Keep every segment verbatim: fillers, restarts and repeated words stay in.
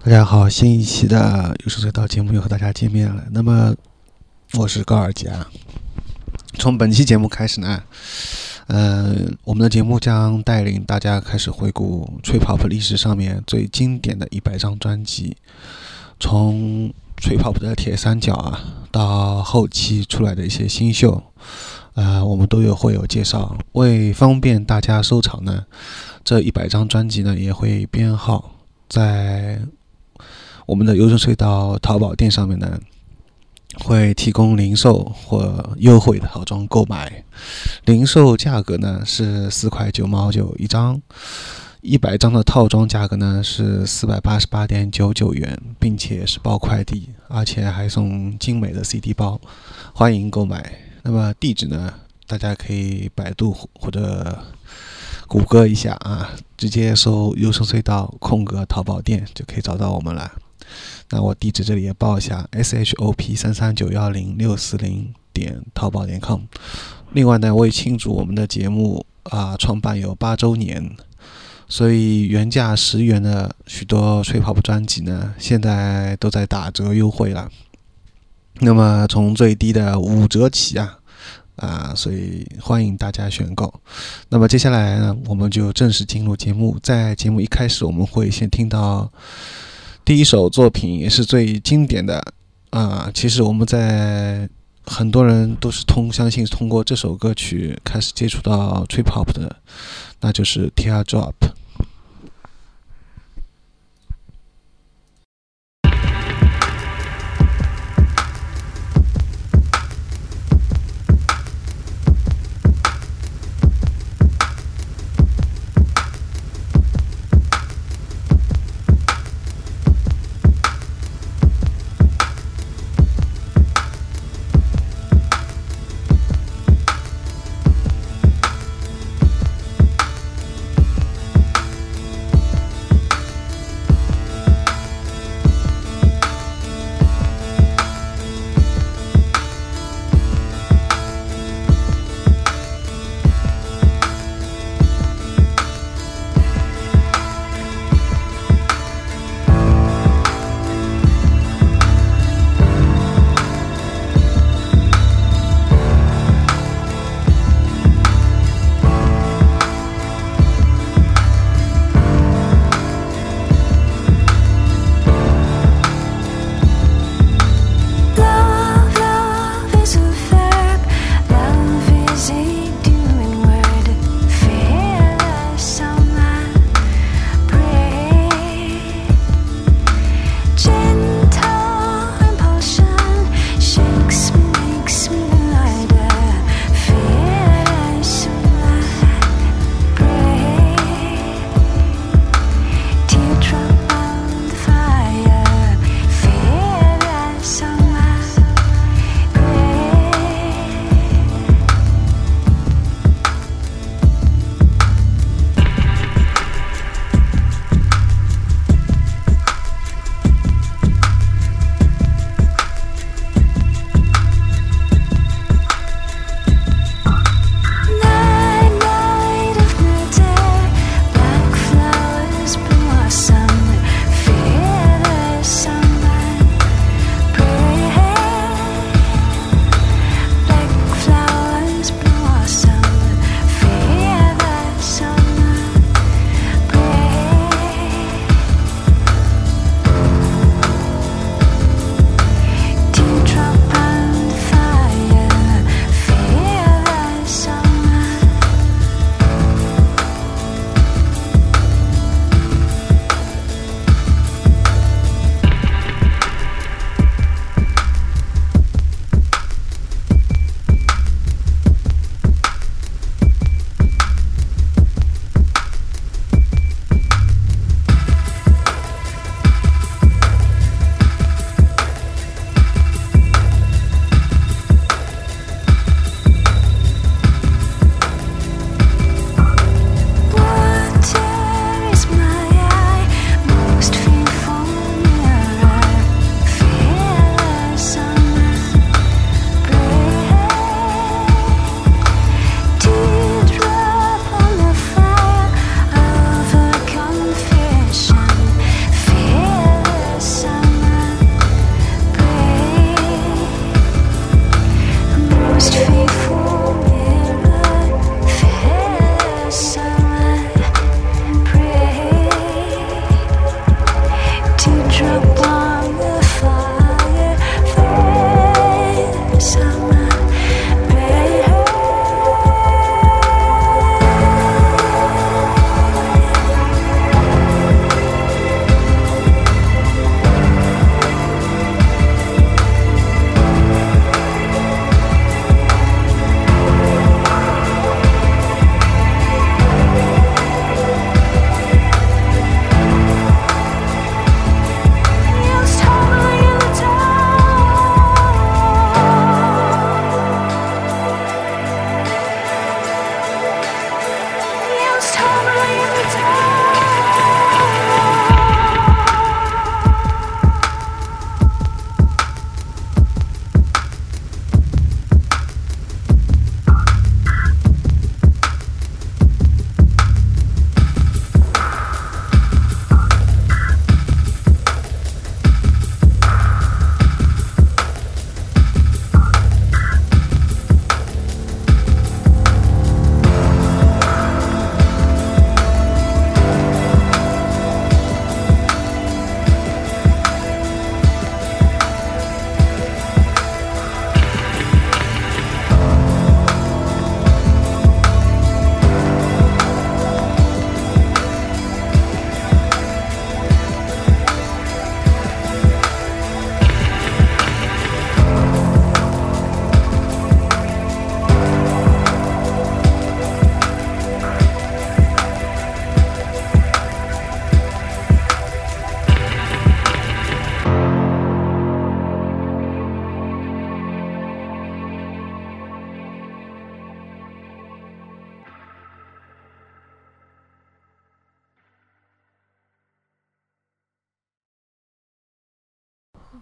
大家好，新一期的有声隧道节目又和大家见面了。那么我是高尔佳。从本期节目开始呢，呃，我们的节目将带领大家开始回顾 Trip Hop 历史上面最经典的一百张专辑，从 Trip Hop 的铁三角啊，到后期出来的一些新秀，呃，我们都有会有介绍。为方便大家收藏呢，这一百张专辑呢也会编号在我们的有声隧道淘宝店上面呢，会提供零售或优惠的套装购买。零售价格呢是四块九毛九一张，一百张的套装价格呢是四百八十八点九九元，并且是包快递，而且还送精美的 C D 包，欢迎购买。那么地址呢，大家可以百度或者谷歌一下啊，直接搜有声隧道空格淘宝店就可以找到我们了。那我地址这里也报一下 S H O P 三三九一零六四零点淘宝点 com。 另外呢，为庆祝我们的节目啊创办有八周年，所以原价十元的许多 Trip Hop 专辑呢，现在都在打折优惠了。那么从最低的五折起啊啊，所以欢迎大家选购。那么接下来呢，我们就正式进入节目。在节目一开始，我们会先听到第一首作品，也是最经典的啊。其实我们在很多人都是通相信通过这首歌曲开始接触到 Trip Hop 的，那就是 Teardrop。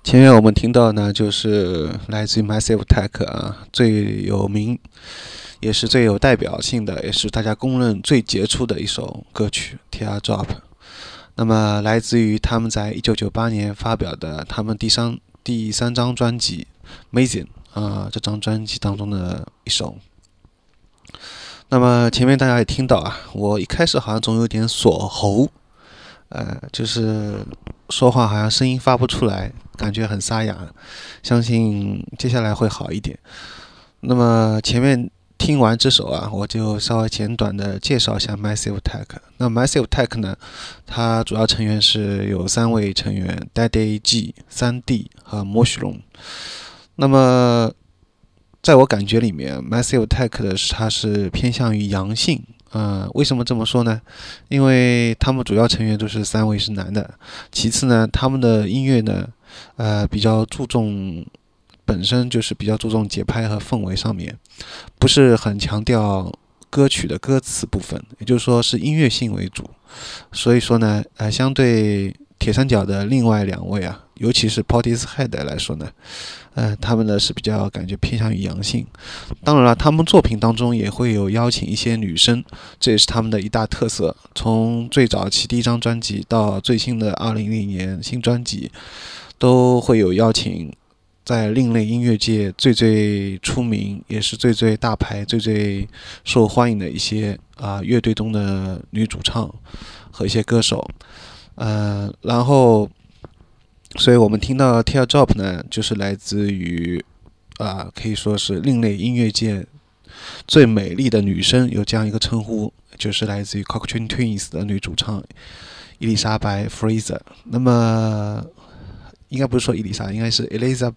前面我们听到呢，就是来自于 Massive Attack 啊，最有名，也是最有代表性的，也是大家公认最杰出的一首歌曲《Teardrop》。那么，来自于他们在一九九八年发表的他们第三第三张专辑《Amazing》啊，这张专辑当中的一首。那么前面大家也听到啊，我一开始好像总有点锁喉，呃，就是说话好像声音发不出来，感觉很沙哑。相信接下来会好一点。那么前面听完这首啊，我就稍微简短的介绍一下 Massive Attack。那 Massive Attack 呢，它主要成员是有三位成员 Daddy G、三 D 和 Mushroom。那么在我感觉里面 Massive Attack 的它是偏向于阳性。呃，为什么这么说呢？因为他们主要成员都是三位是男的，其次呢，他们的音乐呢，呃，比较注重，本身就是比较注重节拍和氛围上面，不是很强调歌曲的歌词部分，也就是说是音乐性为主。所以说呢，呃，相对铁三角的另外两位啊，尤其是 Portishead 来说呢，呃，他们呢是比较感觉偏向于阳性。当然了，他们作品当中也会有邀请一些女生，这也是他们的一大特色。从最早期第一张专辑到最新的二零一零年新专辑，都会有邀请在另类音乐界最最出名，也是最最大牌、最最受欢迎的一些啊、呃、乐队中的女主唱和一些歌手。呃，然后，所以我们听到 Teardrop 呢，就是来自于啊、呃，可以说是另类音乐界最美丽的女生，有这样一个称呼，就是来自于 Cocteau Twins 的女主唱伊丽莎白 Fraser。那么应该不是说伊丽莎，应该是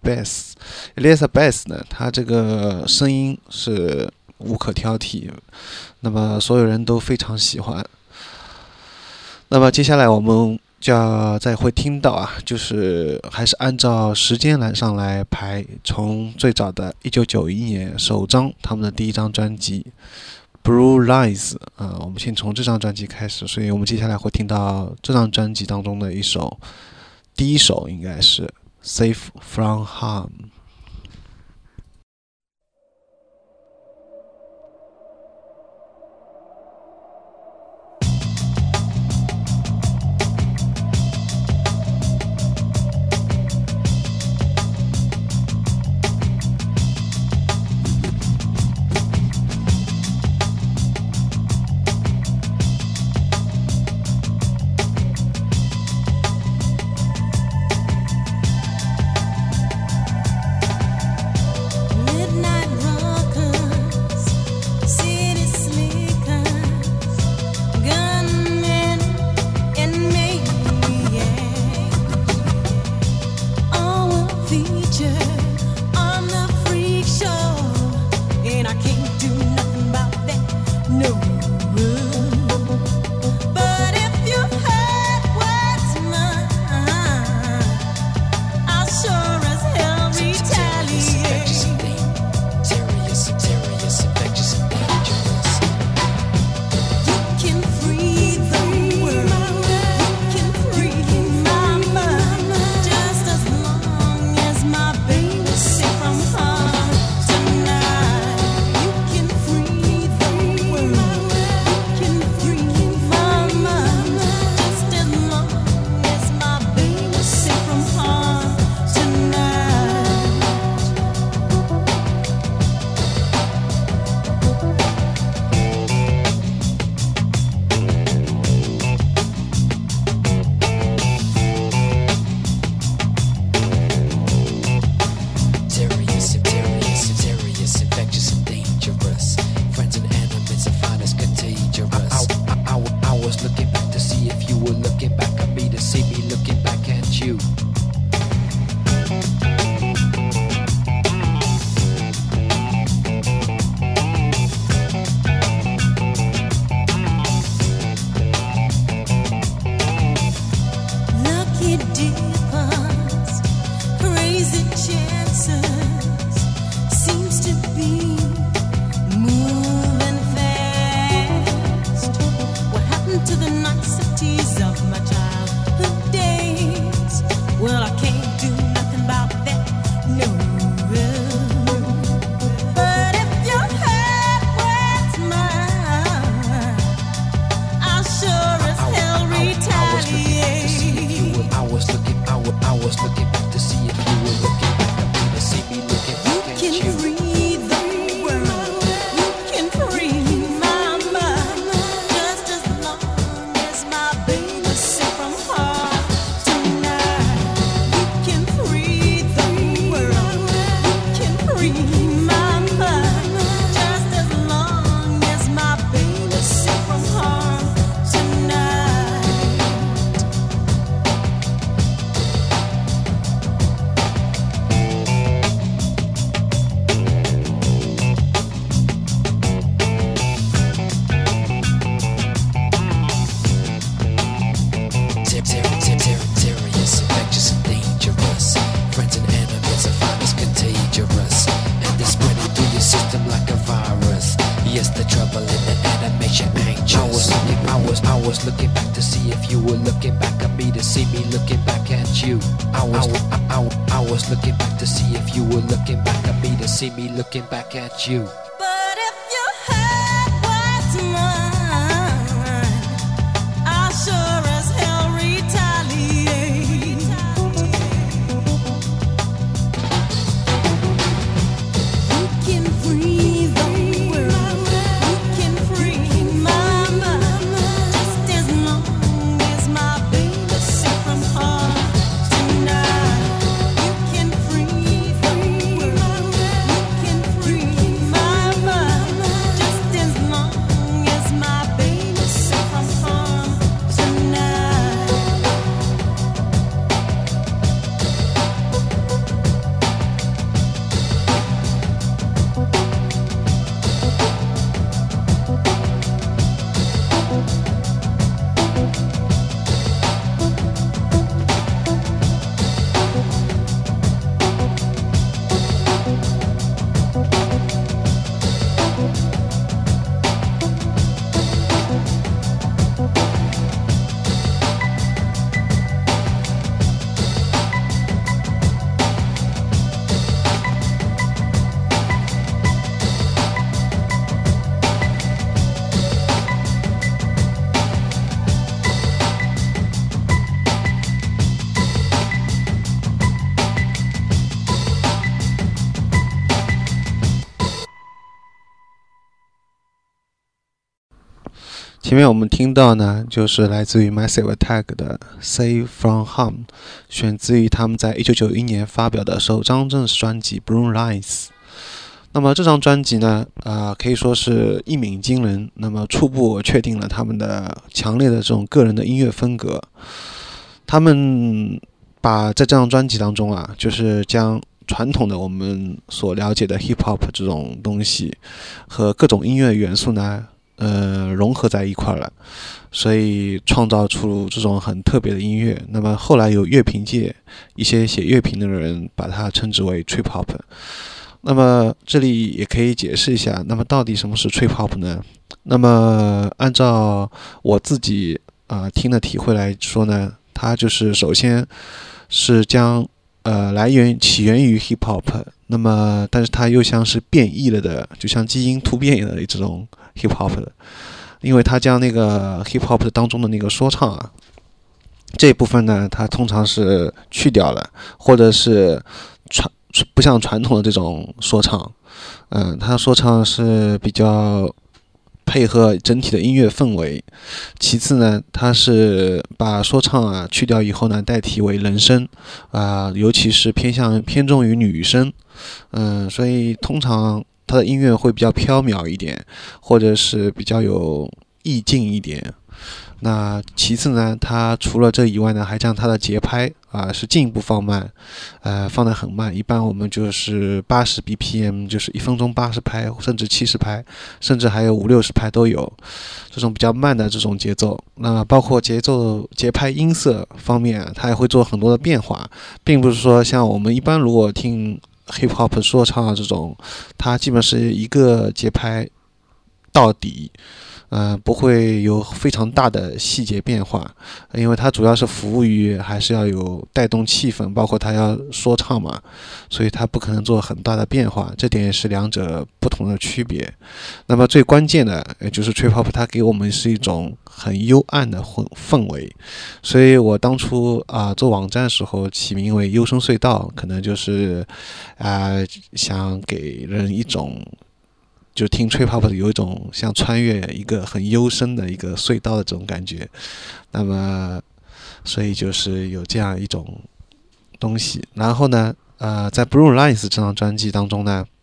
Elizabeth。Elizabeth 呢，她这个声音是无可挑剔，那么所有人都非常喜欢。那么接下来我们就要再会听到啊，就是还是按照时间栏上来排，从最早的一九九一年首张他们的第一张专辑 Blue Lies 啊、呃，我们先从这张专辑开始，所以我们接下来会听到这张专辑当中的一首，第一首应该是 Safe From Harm。 see me looking back at you. I was, I, I, I was looking back to see if you were looking back at me to see me looking back at you. But if you had what's mine, I sure as hell retaliate. You can free the world, you can free my mind, just as long as my baby safe from harm tonight. You can free the world, you can free my mind, just as long as my baby safe from harm tonight. 前面我们听到呢，就是来自于 Massive Attack 的 Safe From Harm， 选自于他们在一九九一年发表的首张正式专辑 Blue Lines。 那么这张专辑呢，呃，可以说是一鸣惊人，那么初步确定了他们的强烈的这种个人的音乐风格。他们把在这张专辑当中啊，就是将传统的我们所了解的 hip hop 这种东西和各种音乐元素呢，呃，融合在一块了，所以创造出这种很特别的音乐。那么后来有乐评界一些写乐评的人把它称之为 trip hop。那么这里也可以解释一下，那么到底什么是 trip hop 呢？那么按照我自己啊、呃、听的体会来说呢，它就是首先是将呃来源起源于 hip hop， 那么但是它又像是变异了的，就像基因突变的这种 hip hop 的，因为它将那个 hip hop 当中的那个说唱啊这一部分呢，它通常是去掉了，或者是传不像传统的这种说唱，嗯、呃，它说唱是比较配合整体的音乐氛围。其次呢，它是把说唱啊去掉以后呢，代替为人声啊、呃，尤其是偏向偏重于女声，嗯、呃，所以通常它的音乐会比较飘渺一点，或者是比较有意境一点。那其次呢，它除了这以外呢，还将它的节拍啊、呃、是进一步放慢，呃，放得很慢。一般我们就是八十 B P M， 就是一分钟八十拍，甚至七十拍，甚至还有五六十拍都有。这种比较慢的这种节奏，那包括节奏、节拍、音色方面，它也会做很多的变化，并不是说像我们一般如果听 hip hop 说唱啊这种，它基本是一个节拍到底。呃，不会有非常大的细节变化，因为它主要是服务于还是要有带动气氛，包括它要说唱嘛，所以它不可能做很大的变化，这点也是两者不同的区别。那么最关键的也就是 trip hop， 它给我们是一种很幽暗的氛围，所以我当初啊、呃、做网站的时候起名为幽深隧道，可能就是啊、呃、想给人一种。就听 trip hop 有一种像穿越一个很幽深的一个隧道的这种感觉，那么所以就是有这样一种东西。然后呢，呃，在 Blue Lines 这张专辑当中呢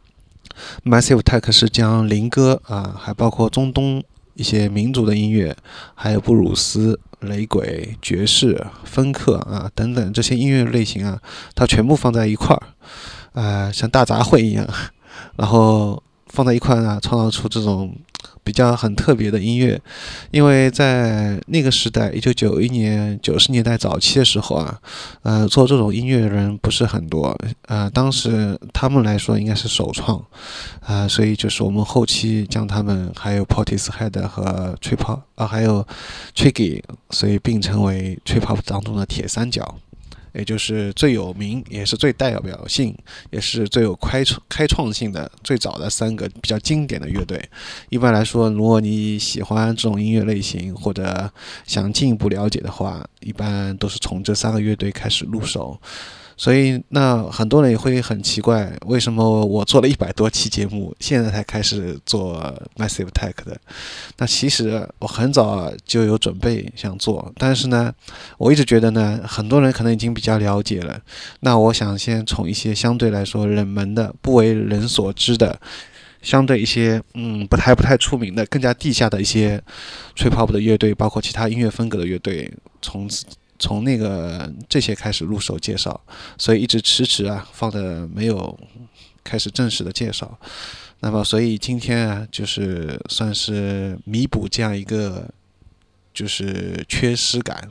，Massive Attack 是将灵歌啊，还包括中东一些民族的音乐，还有布鲁斯、雷鬼、爵士、芬克啊等等这些音乐类型啊，它全部放在一块儿，呃，像大杂烩一样，然后。 放在一块呢，创造出这种比较很特别的音乐。因为在那个时代，一九九一年、九十年代早期的时候啊，呃，做这种音乐的人不是很多，呃，当时他们来说应该是首创，啊、呃，所以就是我们后期将他们还有 Portishead 和 Trip Hop 啊，还有 Tricky， 所以并称为 Trip Hop 当中的铁三角。也就是最有名，也是最代表性，也是最有开开创性的最早的三个比较经典的乐队。一般来说，如果你喜欢这种音乐类型，或者想进一步了解的话，一般都是从这三个乐队开始入手。所以那很多人也会很奇怪，为什么我做了一百多期节目，现在才开始做 Massive Attack 的。那其实我很早就有准备想做，但是呢我一直觉得呢，很多人可能已经比较了解了，那我想先从一些相对来说冷门的、不为人所知的，相对一些嗯不太不太出名的、更加地下的一些 Trip Hop 的乐队，包括其他音乐风格的乐队，从从那个这些开始入手介绍，所以一直迟迟啊放的没有开始正式的介绍。那么所以今天啊，就是算是弥补这样一个就是缺失感。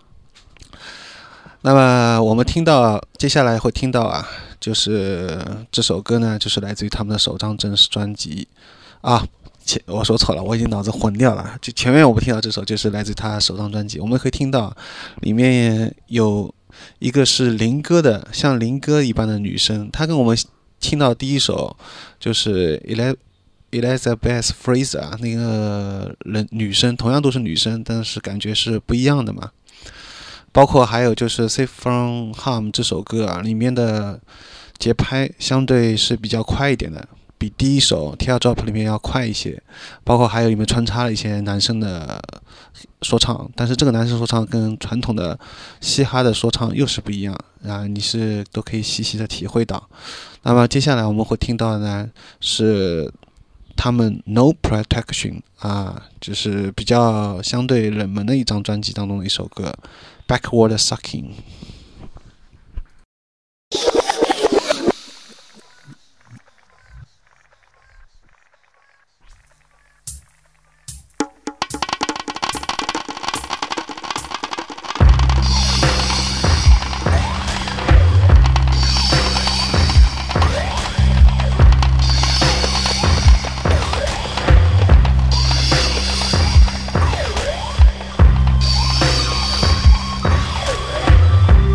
那么我们听到接下来会听到啊，就是这首歌呢，就是来自于他们的首张正式专辑啊。前我说错了，我已经脑子混掉了。就前面我们听到这首就是来自他首张专辑，我们可以听到里面有一个是林歌的，像林歌一般的女生，她跟我们听到第一首就是 Elizabeth Fraser 那个人女生，同样都是女生，但是感觉是不一样的嘛。包括还有就是 Safe From Harm 这首歌啊，里面的节拍相对是比较快一点的，比第一首 Teardrop 里面要快一些，包括还有里面穿插了一些男生的说唱，但是这个男生说唱跟传统的嘻哈的说唱又是不一样啊，你是都可以细细的体会到。那么接下来我们会听到的呢是他们 No Protection 啊，就是比较相对冷门的一张专辑当中的一首歌 Backward Sucking。 Backward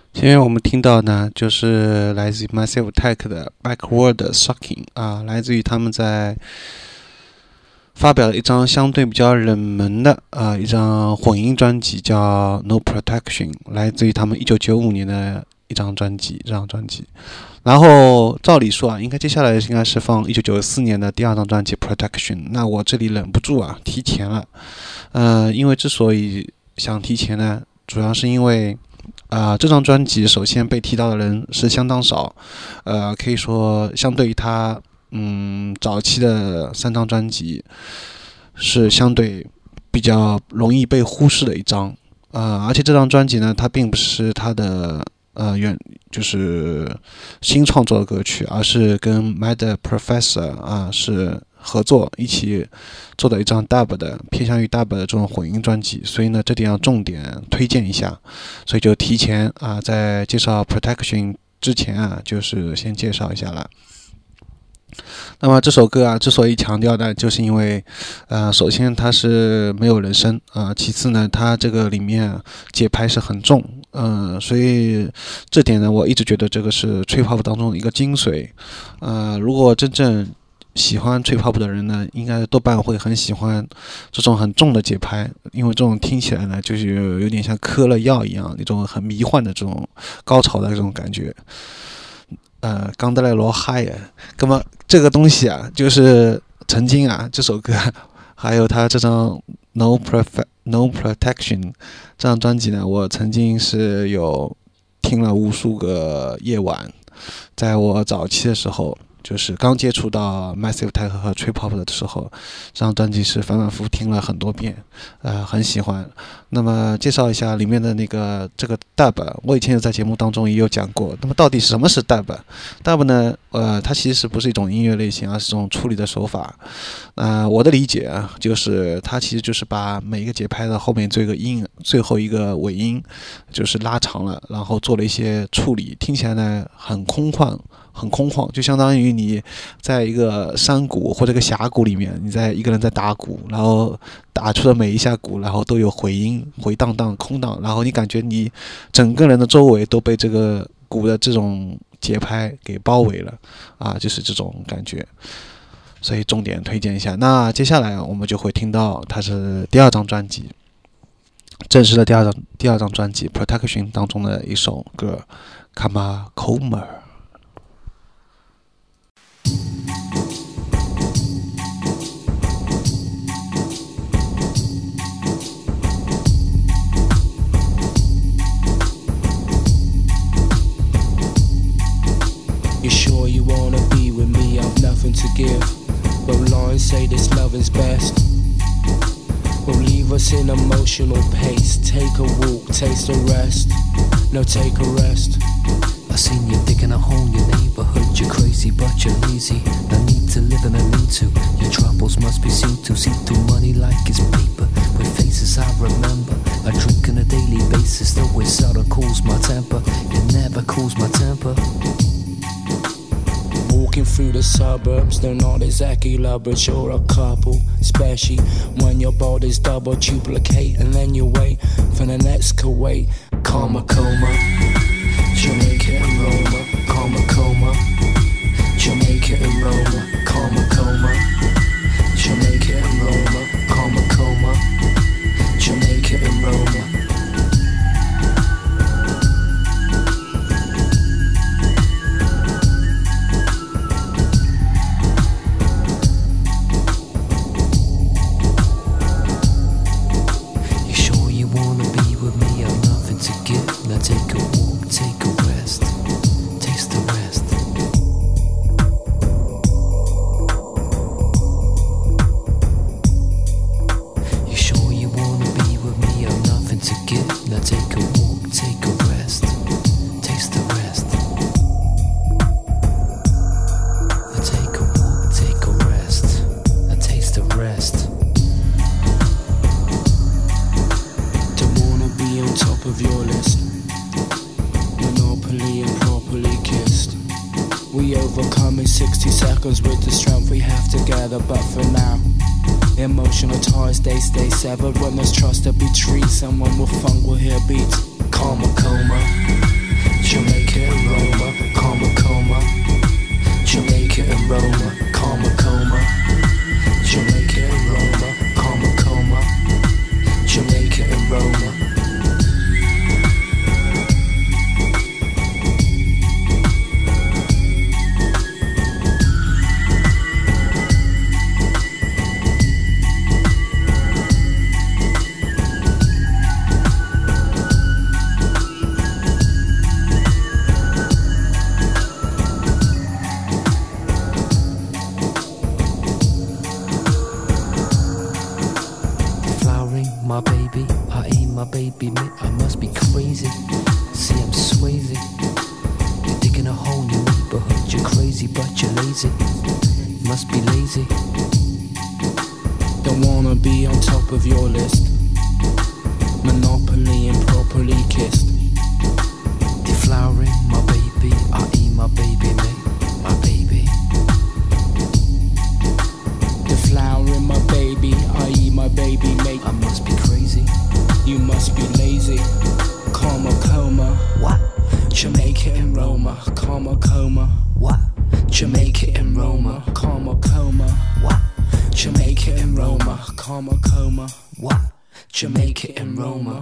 前面我们听到呢，就是来自于 Massive Attack 的 Backward Sucking 啊，来自于他们在发表了一张相对比较冷门的啊一张混音专辑，叫 No Protection， 来自于他们一九九五年的一张专辑，这张专辑。然后照理说啊，应该接下来应该是放一九九四年的第二张专辑 Protection。那我这里忍不住啊，提前了。呃，因为之所以想提前呢，主要是因为。啊、呃，这张专辑首先被提到的人是相当少，呃，可以说相对于他嗯早期的三张专辑，是相对比较容易被忽视的一张，呃，而且这张专辑呢，它并不是他的呃原就是新创作的歌曲，而是跟 Mad Professor 啊是合作一起做的一张 dub 的偏向于 dub 的这种混音专辑，所以呢这点要重点推荐一下，所以就提前啊在介绍 Protection 之前啊就是先介绍一下了。那么这首歌啊之所以强调呢，就是因为呃首先它是没有人声啊、呃，其次呢它这个里面、啊、节拍是很重，嗯、呃，所以这点呢我一直觉得这个是吹泡泡当中的一个精髓，呃如果真正喜欢吹泡泡的人呢，应该多半会很喜欢这种很重的节拍，因为这种听起来呢，就是有点像嗑了药一样，那种很迷幻的这种高潮的这种感觉。呃，刚得来罗嗨呀，那么这个东西啊，就是曾经啊，这首歌还有他这张 No Profe No Protection 这张专辑呢，我曾经是有听了无数个夜晚，在我早期的时候。就是刚接触到 Massive Attack 和 Trip Hop 的时候，这张专辑是反反复复听了很多遍，呃，很喜欢。那么介绍一下里面的那个这个 dub， 我以前有在节目当中也有讲过。那么到底什么是 dub？dub 呢？呃，它其实不是一种音乐类型，而是一种处理的手法。呃，我的理解啊，就是它其实就是把每一个节拍的后面这个音，最后一个尾音，就是拉长了，然后做了一些处理，听起来呢很空旷。很空旷，就相当于你在一个山谷或者一个峡谷里面，你在一个人在打鼓，然后打出的每一下鼓，然后都有回音，回荡荡、空荡，然后你感觉你整个人的周围都被这个鼓的这种节拍给包围了，啊，就是这种感觉。所以重点推荐一下。那接下来我们就会听到它是第二张专辑，正式的第二张第二张专辑 Protection 当中的一首歌 Kama。You sure you wanna be with me? I've nothing to give. But lines say this loving's best. Will leave us in emotional pace. Take a walk, taste a rest. No, take a rest. I seen you digging a hole in your neighborhood. You're crazy, but you're lazy. No need to live and no need to. Your troubles must be seen to. See through money like it's paper. With faces I remember. I drink on a daily basis. Though it seldom cools my temper. It never cools my temper. Walking through the suburbs, they're not exactly lovers, you're a couple. Especially when your body's double duplicate, and then you wait for the next Kuwait. Karma coma, Jamaica and Roma. Karma coma, Jamaica and Roma. Karma coma, Jamaica and Roma. Karma coma, Jamaica and Roma. Take a walk, take a rest, taste the rest. You sure you wanna be with me? I've nothing to give. Now take a walk, take a rest, taste the rest. Now take a walk, take a rest, and taste the rest. Don't wanna be on top of your list. Monopoly and properly kissed. We overcome in sixty seconds with the strength we have together. But for now, emotional ties they stay severed. When there's trust there be trees. Someone with funk will hear beats. Karma coma, Jamaica and Roma, Karma Coma. Jamaica and Roma, Karma Coma. Jamaica and Roma, Karma Coma. Jamaica and Roma. My baby, I ain't my baby, mate, I must be crazy. See, I'm Swayze. You're digging a hole in your neighborhood. You're crazy, but you're lazy. You must be lazy. Don't wanna be on top of your list. Monopoly improperly kissed. Deflowering my baby, I ain't my baby, mate, my baby. Deflowering my baby, I eat my baby, mate. I must be crazy. You must be lazy. Karma coma. What? Jamaica and Roma. Karma coma. What? Jamaica and Roma. Karma coma. What? Jamaica and Roma. Karma coma. What? Jamaica and Roma.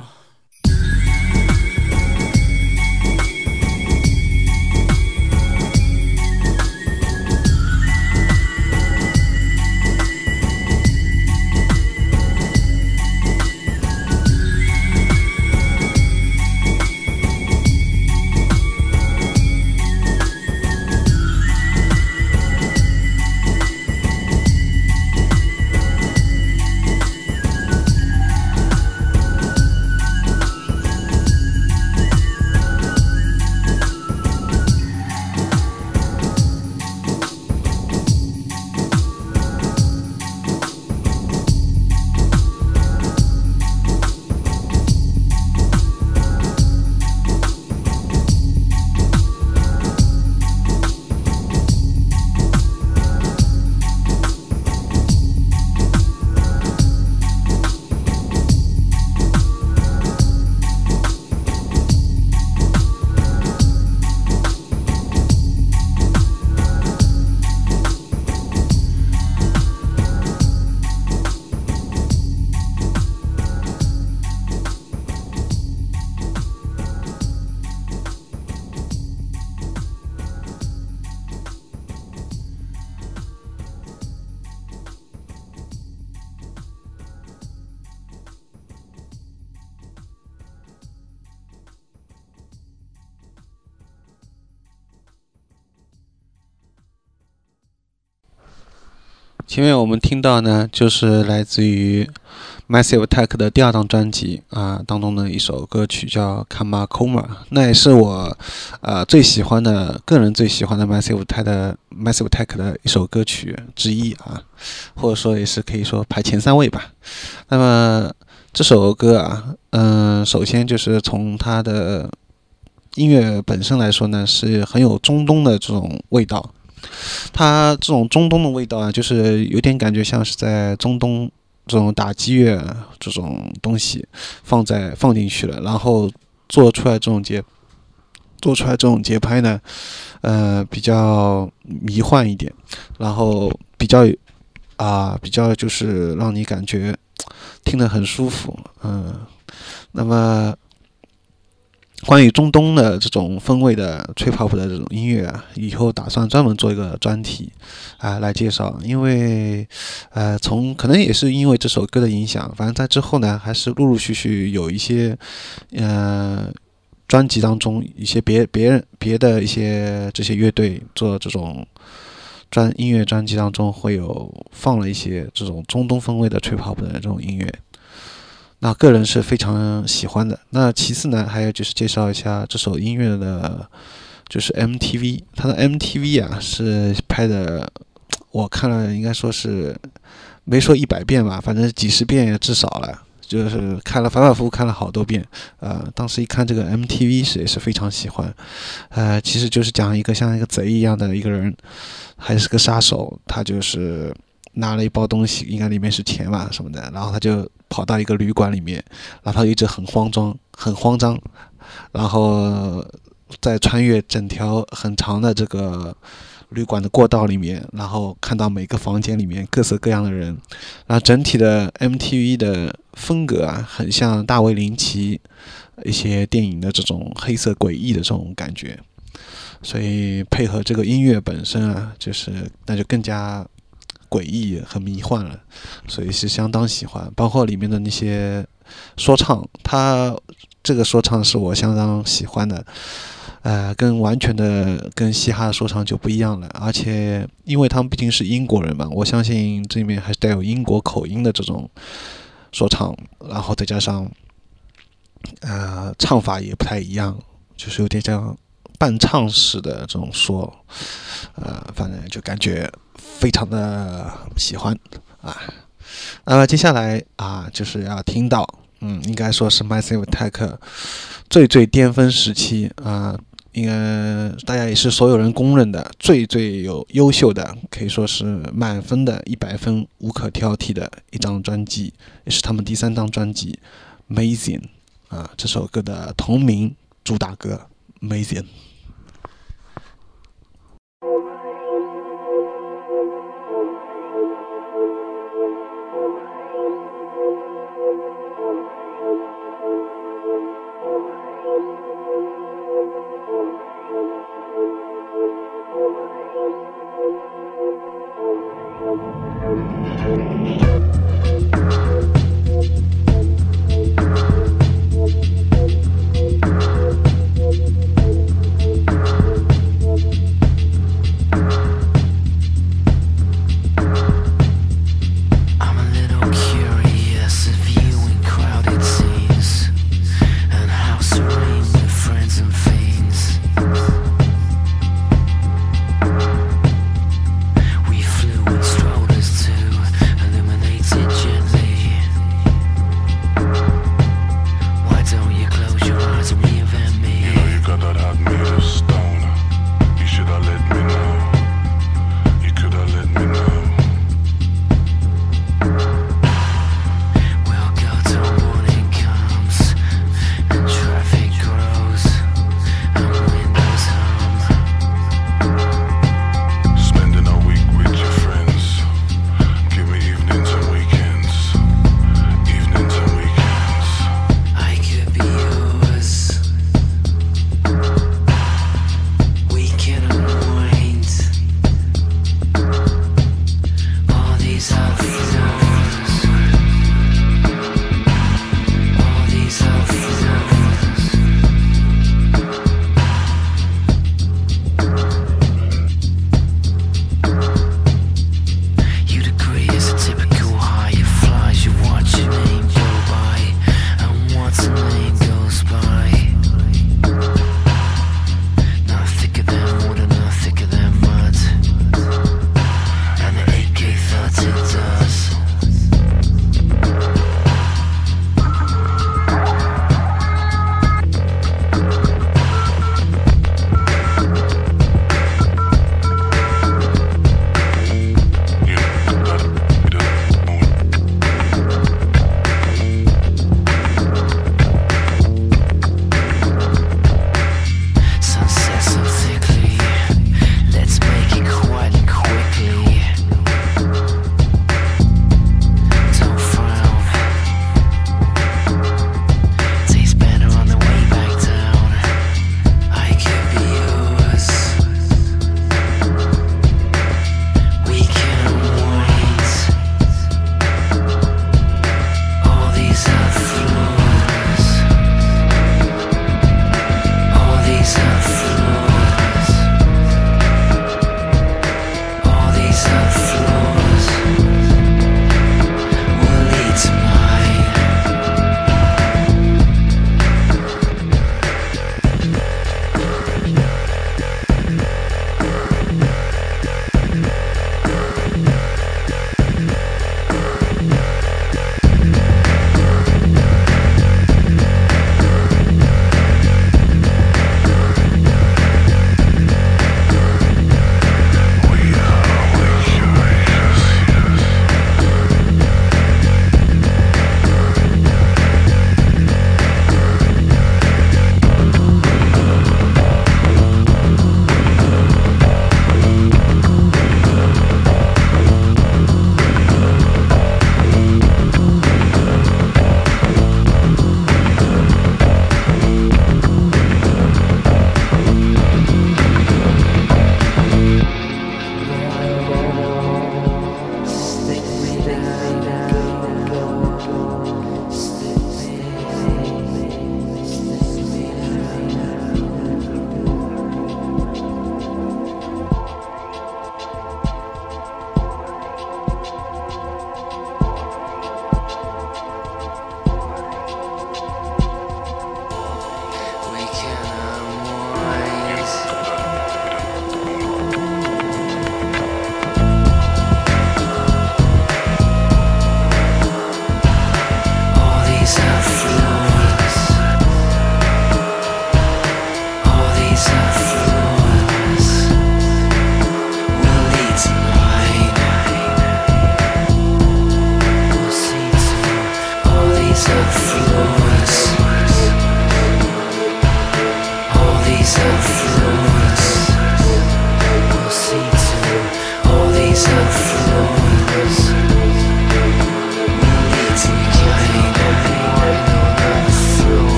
前面我们听到呢，就是来自于 Massive Attack 的第二张专辑啊当中的一首歌曲叫 Karma Coma， 那也是我呃最喜欢的个人最喜欢的 Massive Attack 的 Massive Attack 的一首歌曲之一啊，或者说也是可以说排前三位吧。那么这首歌啊，嗯、呃，首先就是从它的音乐本身来说呢，是很有中东的这种味道。它这种中东的味道啊，就是有点感觉像是在中东这种打击乐这种东西放在放进去了，然后做出来这种节做出来这种节拍呢，呃，比较迷幻一点，然后比较啊、呃、比较就是让你感觉听得很舒服，嗯、呃，那么。关于中东的这种风味的吹泡泡的这种音乐啊，以后打算专门做一个专题啊、呃、来介绍，因为呃从可能也是因为这首歌的影响，反正在之后呢，还是陆陆续续有一些呃专辑当中一些别别人别的一些这些乐队做这种专音乐专辑当中会有放了一些这种中东风味的吹泡泡的这种音乐。那个人是非常喜欢的。那其次呢，还有就是介绍一下这首音乐的，就是 M T V， 它的 M T V 啊是拍的，我看了应该说是没说一百遍吧，反正几十遍也至少了，就是看了反反复复看了好多遍。呃，当时一看这个 M T V 是也是非常喜欢，呃，其实就是讲一个像一个贼一样的一个人，还是个杀手，他就是拿了一包东西，应该里面是钱吧什么的，然后他就跑到一个旅馆里面，然后他一直很慌张，很慌张，然后在穿越整条很长的这个旅馆的过道里面，然后看到每个房间里面各色各样的人，然后整体的 M T V 的风格啊，很像大卫林奇一些电影的这种黑色诡异的这种感觉，所以配合这个音乐本身啊，就是那就更加诡异和迷幻了，所以是相当喜欢。包括里面的那些说唱，他这个说唱是我相当喜欢的，呃，跟完全的跟嘻哈的说唱就不一样了。而且因为他们毕竟是英国人嘛，我相信这里面还是带有英国口音的这种说唱，然后再加上呃唱法也不太一样，就是有点像伴唱式的这种说，呃，反正就感觉非常的喜欢啊。那么接下来啊，就是要听到，嗯，应该说是 Massive Attack 最最巅峰时期啊，应该大家也是所有人公认的最最有优秀的，可以说是满分的一百分无可挑剔的一张专辑，也是他们第三张专辑 Amazing 啊，这首歌的同名主打歌 Amazing。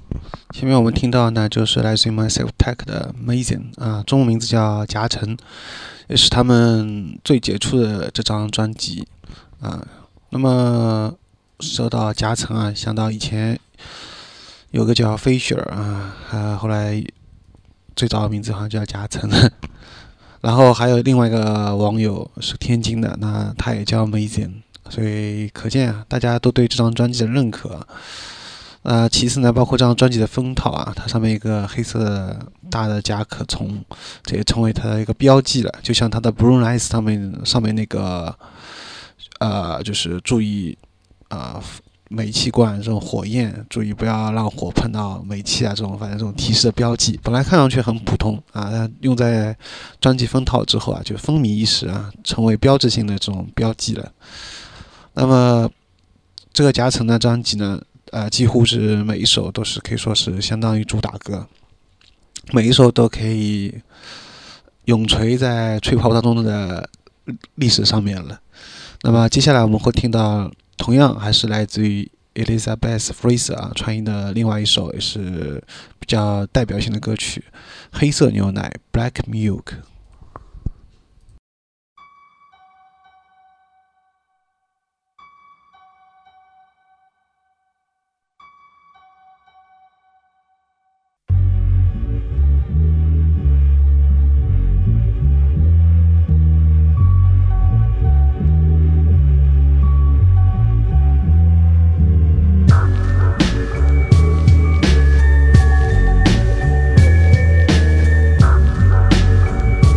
前面我们听到呢，就是来自于 Massive Attack 的 Amazing 啊，中文名字叫夹层，也是他们最杰出的这张专辑啊。那么说到夹层啊，想到以前有个叫 Fisher 啊，啊后来最早的名字好像叫夹层。然后还有另外一个网友是天津的，那他也叫 Amazing， 所以可见啊，大家都对这张专辑的认可。呃，其次呢，包括这张专辑的封套啊，它上面一个黑色的大的甲壳虫，这也成为它的一个标记了。就像它的 Blue Eyes 上面上面那个，呃，就是注意啊、呃，煤气罐这种火焰，注意不要让火碰到煤气啊，这种反正这种提示的标记，本来看上去很普通啊，用在专辑封套之后啊，就风靡一时啊，成为标志性的这种标记了。那么这个夹层的专辑呢？呃，几乎是每一首都是可以说是相当于主打歌，每一首都可以永垂在吹泡当中的历史上面了。那么接下来我们会听到，同样还是来自于 Elizabeth Fraser 啊传译的另外一首，也是比较代表性的歌曲《黑色牛奶》（Black Milk）。 Thank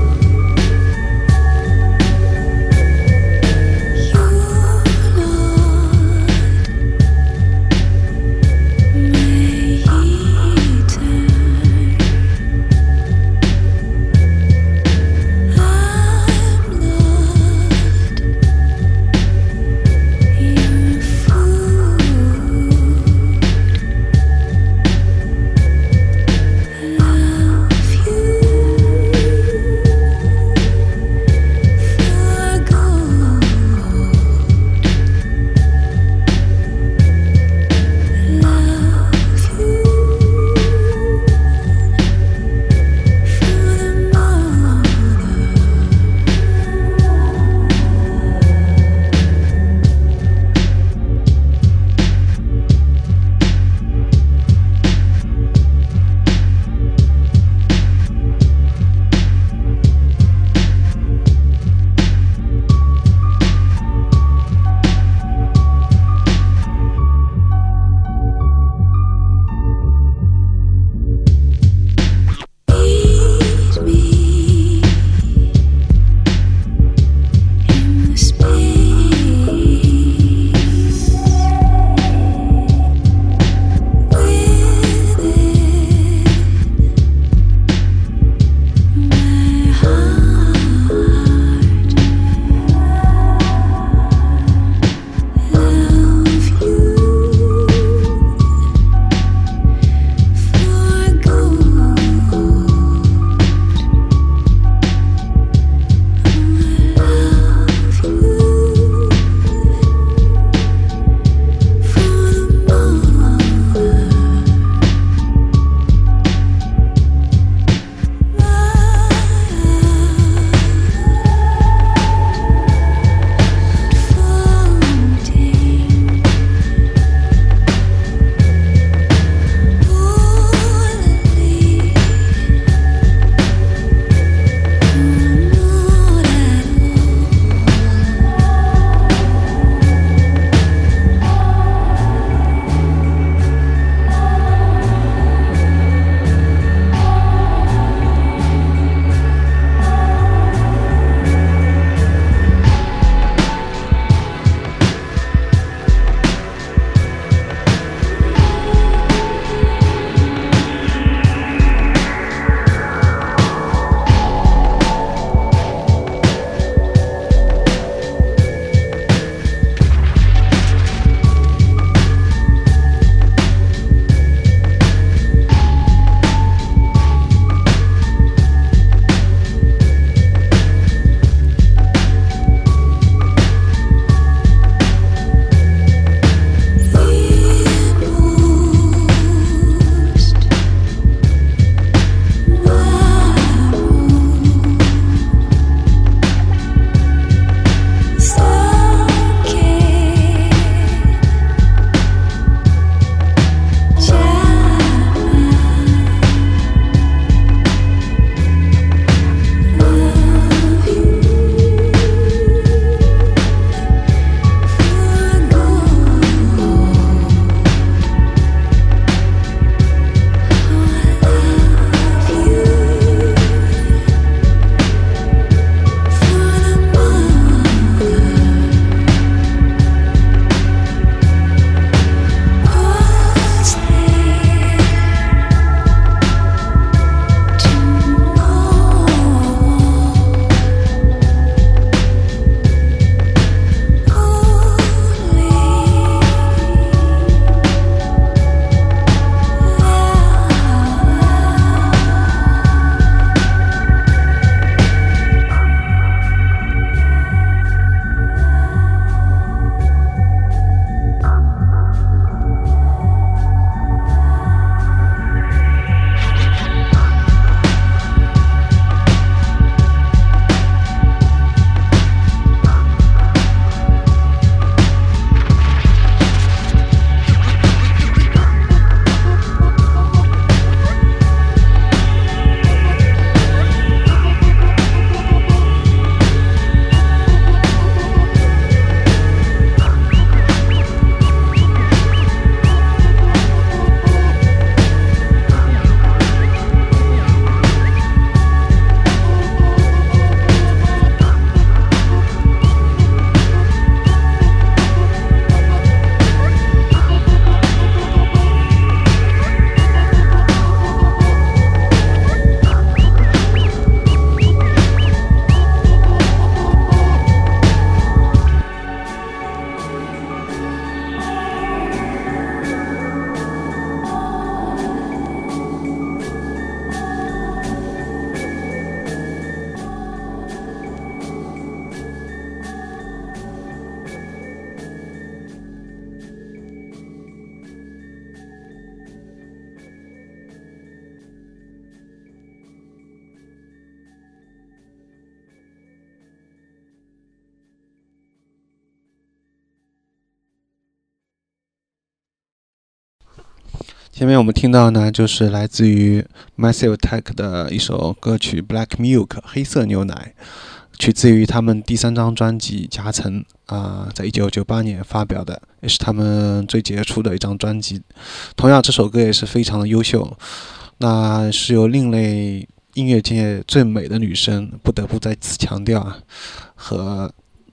前面我们听到呢，就是来自于 Massive Attack 的一首歌曲《Black Milk》黑色牛奶，取自于他们第三张专辑《夹层》啊、呃，在一九九八年发表的，也是他们最杰出的一张专辑。同样，这首歌也是非常的优秀，那是由另类音乐界最美的女生不得不再次强调啊，和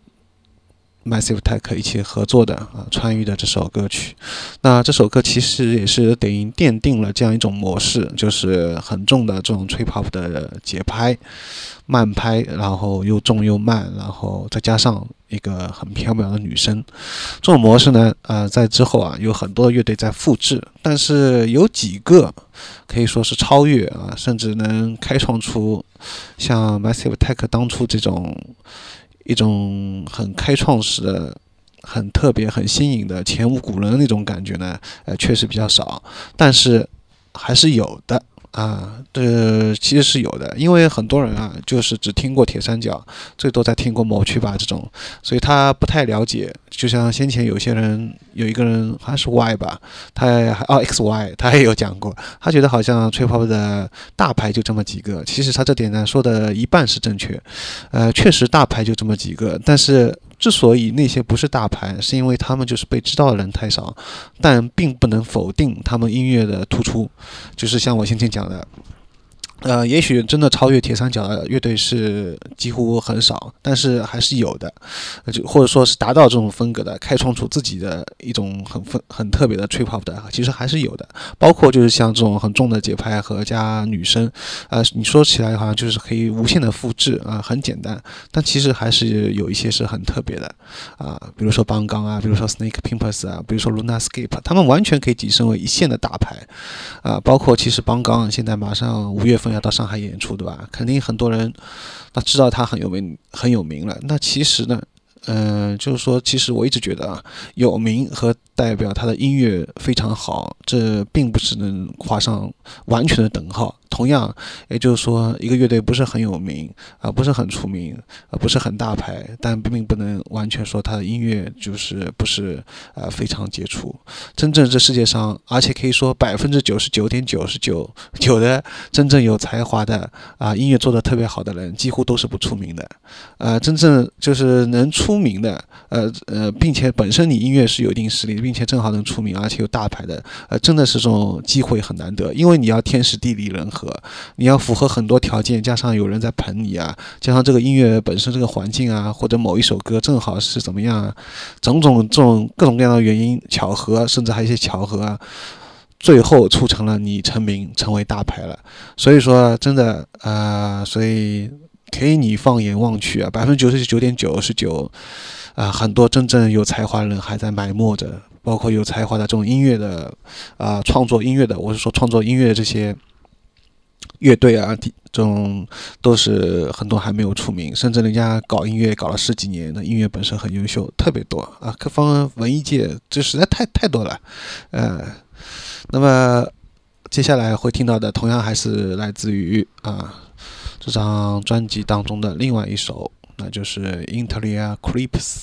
Massive Attack 一起合作的啊，川渝的这首歌曲。那这首歌其实也是等于奠定了这样一种模式，就是很重的这种 trip hop 的节拍，慢拍，然后又重又慢，然后再加上一个很飘渺的女声。这种模式呢，呃，在之后啊，有很多乐队在复制，但是有几个可以说是超越啊，甚至能开创出像 Massive Attack 当初这种一种很开创式的、很特别、很新颖的前无古人的那种感觉呢，呃，确实比较少，但是还是有的啊。这其实是有的，因为很多人啊，就是只听过铁三角，最多再听过某区吧这种，所以他不太了解。就像先前有些人，有一个人好像是 Y 吧，他哦 X Y， 他也有讲过，他觉得好像 trip hop 的大牌就这么几个。其实他这点呢说的一半是正确，呃，确实大牌就这么几个，但是之所以那些不是大牌，是因为他们就是被知道的人太少，但并不能否定他们音乐的突出。就是像我先前讲的，呃，也许真的超越铁三角的乐队是几乎很少，但是还是有的，就或者说是达到这种风格的，开创出自己的一种很很特别的 trip hop 的，其实还是有的。包括就是像这种很重的节拍和加女声，呃，你说起来好像就是可以无限的复制啊、呃，很简单，但其实还是有一些是很特别的啊、呃，比如说邦刚啊，比如说 Snake Pimpers 啊，比如说 Lunascape， 他们完全可以跻身为一线的大牌啊、呃，包括其实邦刚现在马上五月份要到上海演出，对吧？肯定很多人那知道他很有名，很有名了。那其实呢，嗯、呃，就是说，其实我一直觉得啊，有名和代表他的音乐非常好，这并不是能画上完全的等号。同样，也就是说，一个乐队不是很有名啊、呃，不是很出名啊、呃，不是很大牌，但并不能完全说他的音乐就是不是呃非常杰出。真正这世界上，而且可以说百分之九十九点九十九九的真正有才华的啊、呃，音乐做得特别好的人，几乎都是不出名的。呃，真正就是能出名的，呃呃，并且本身你音乐是有一定实力，并且正好能出名，而且有大牌的，呃，真的是这种机会很难得，因为你要天时地利人和。你要符合很多条件，加上有人在捧你啊，加上这个音乐本身这个环境啊，或者某一首歌正好是怎么样啊，种种这种各种各样的原因巧合，甚至还有一些巧合啊，最后促成了你成名，成为大牌了。所以说真的啊、呃，所以可以你放眼望去啊，百分之九十九点九十九啊，很多真正有才华的人还在埋没着，包括有才华的这种音乐的啊、呃，创作音乐的，我是说创作音乐的这些乐队啊，这种都是很多还没有出名，甚至人家搞音乐搞了十几年的音乐本身很优秀，特别多啊，各方文艺界这实在太太多了，呃，那么接下来会听到的同样还是来自于啊这张专辑当中的另外一首，那就是 Interia Creeps。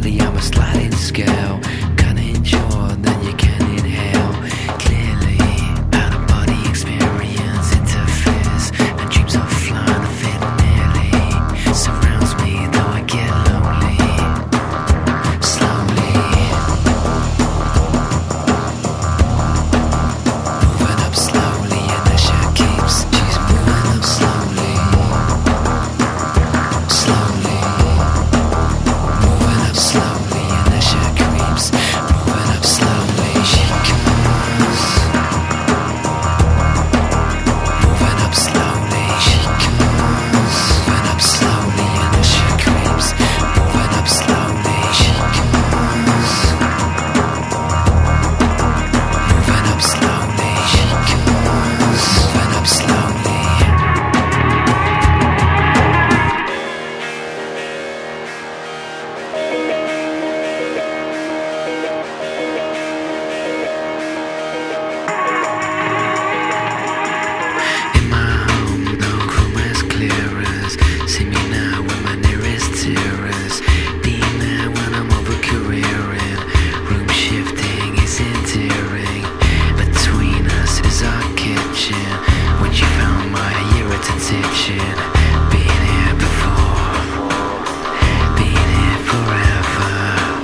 Slightly I'm a sliding scale. Kinda enjoy, then you can't inhale. Clearly, out of body experience interferes, and dreams of flying fit nearly surrounds me, though I get lonely. Slowly, moving up slowly, and the shit keeps. She's moving up slowly, slowly, moving up slowly, and the shit creeps. Moving up slowly, she comes. Moving up slowly, she comes. Moving up slowly, and the shit creeps. Moving up slowly, she comes. Moving up slowly, she comes. Moving up slowly. In my home, no room as clear as. See me now with my nearest tears. Being there when I'm over careering. Room shifting is endearing. Between us is our kitchen. When you found my irritant addiction. Being here before. Being here forever.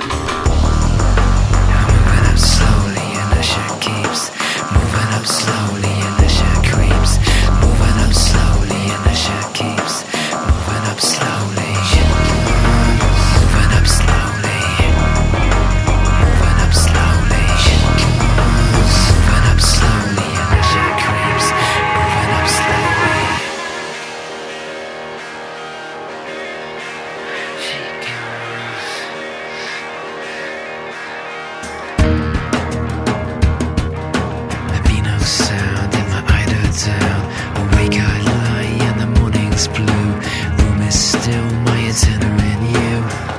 I'm moving up slowly and the shit keeps. Moving up slowly and the shit creeps. Moving up slowly and the shit keeps. Moving up slowly. Moving up slowly. Moving up slowly. Moving up slowly and the shit creeps. Moving up slowly. She comes. There be no sound in my eider down. Awake I lie and the morning's blue. Room is still my antenna in you.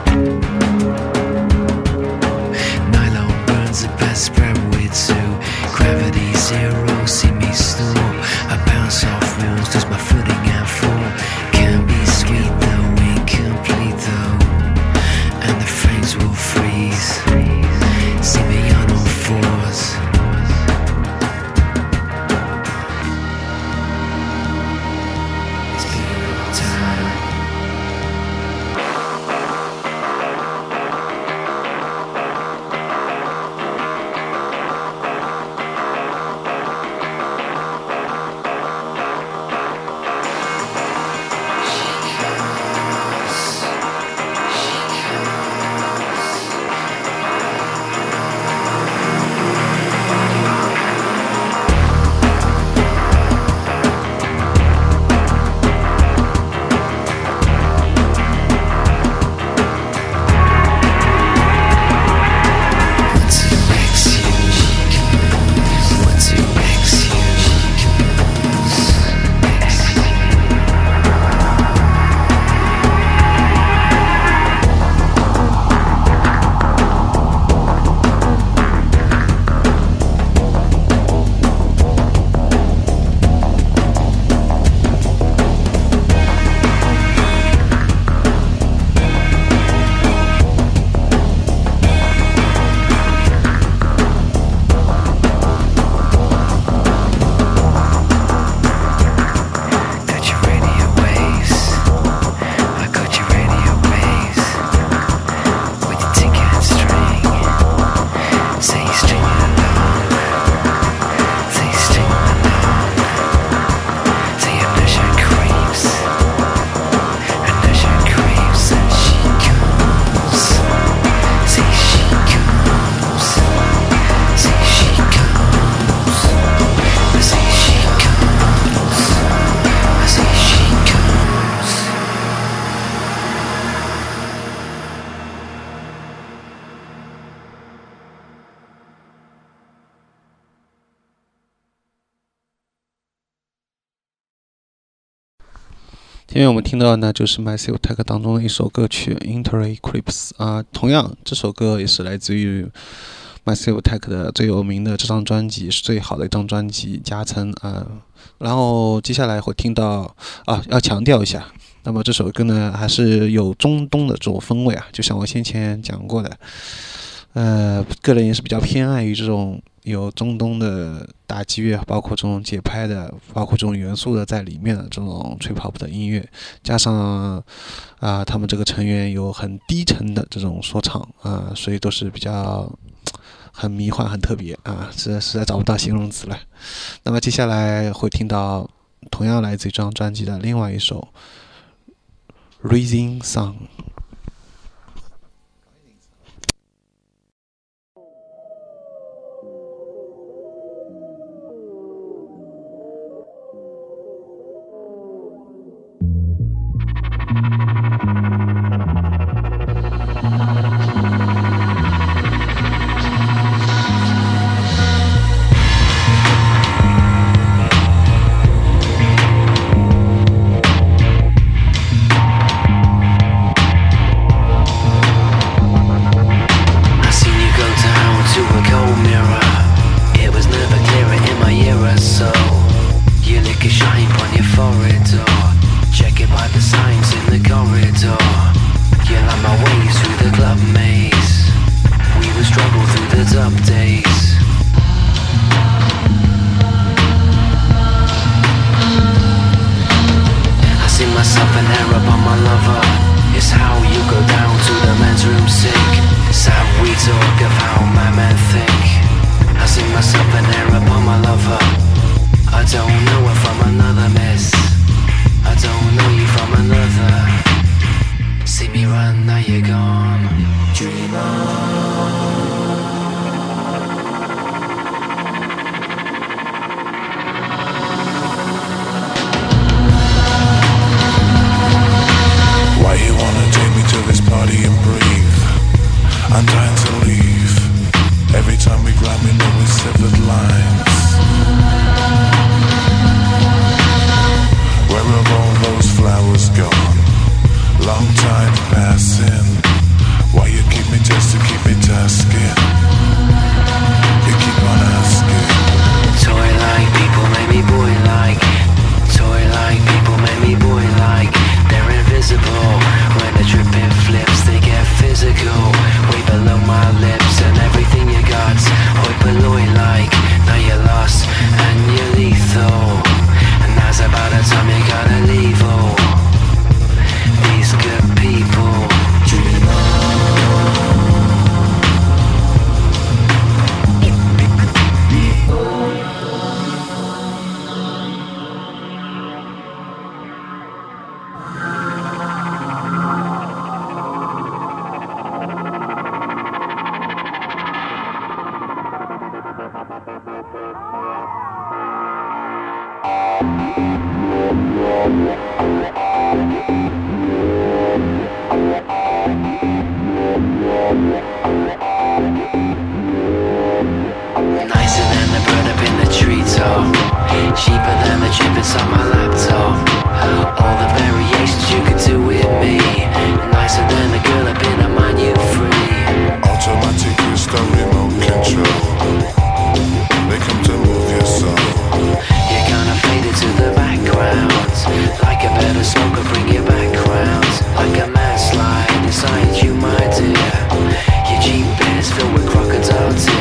Nylon burns the best spread with two. Gravity zero, see me snore. I bounce off walls, lose my footing and fall. Can't be sweet though, incomplete though. And the frames will freeze. See me on all fours. It's been a long time. 前面我们听到的呢，就是 Massive Attack 当中的一首歌曲 Intereclipse 啊，同样这首歌也是来自于 Massive Attack 的最有名的这张专辑，是最好的一张专辑，夹层啊。然后接下来会听到啊，要强调一下， 那么这首歌呢，还是有中东的这种风味啊，就像我先前讲过的，呃，个人也是比较偏爱于这种有中东的打击乐，包括这种节拍的，包括这种元素的在里面的这种吹 pop 的音乐，加上啊、呃，他们这个成员有很低沉的这种说唱啊、呃，所以都是比较很迷幻、很特别啊，实在实在找不到形容词了。那么接下来会听到同样来自于这张专辑的另外一首《Rising Sun》。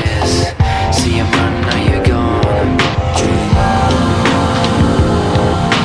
See you run, now you're gone. Dream on.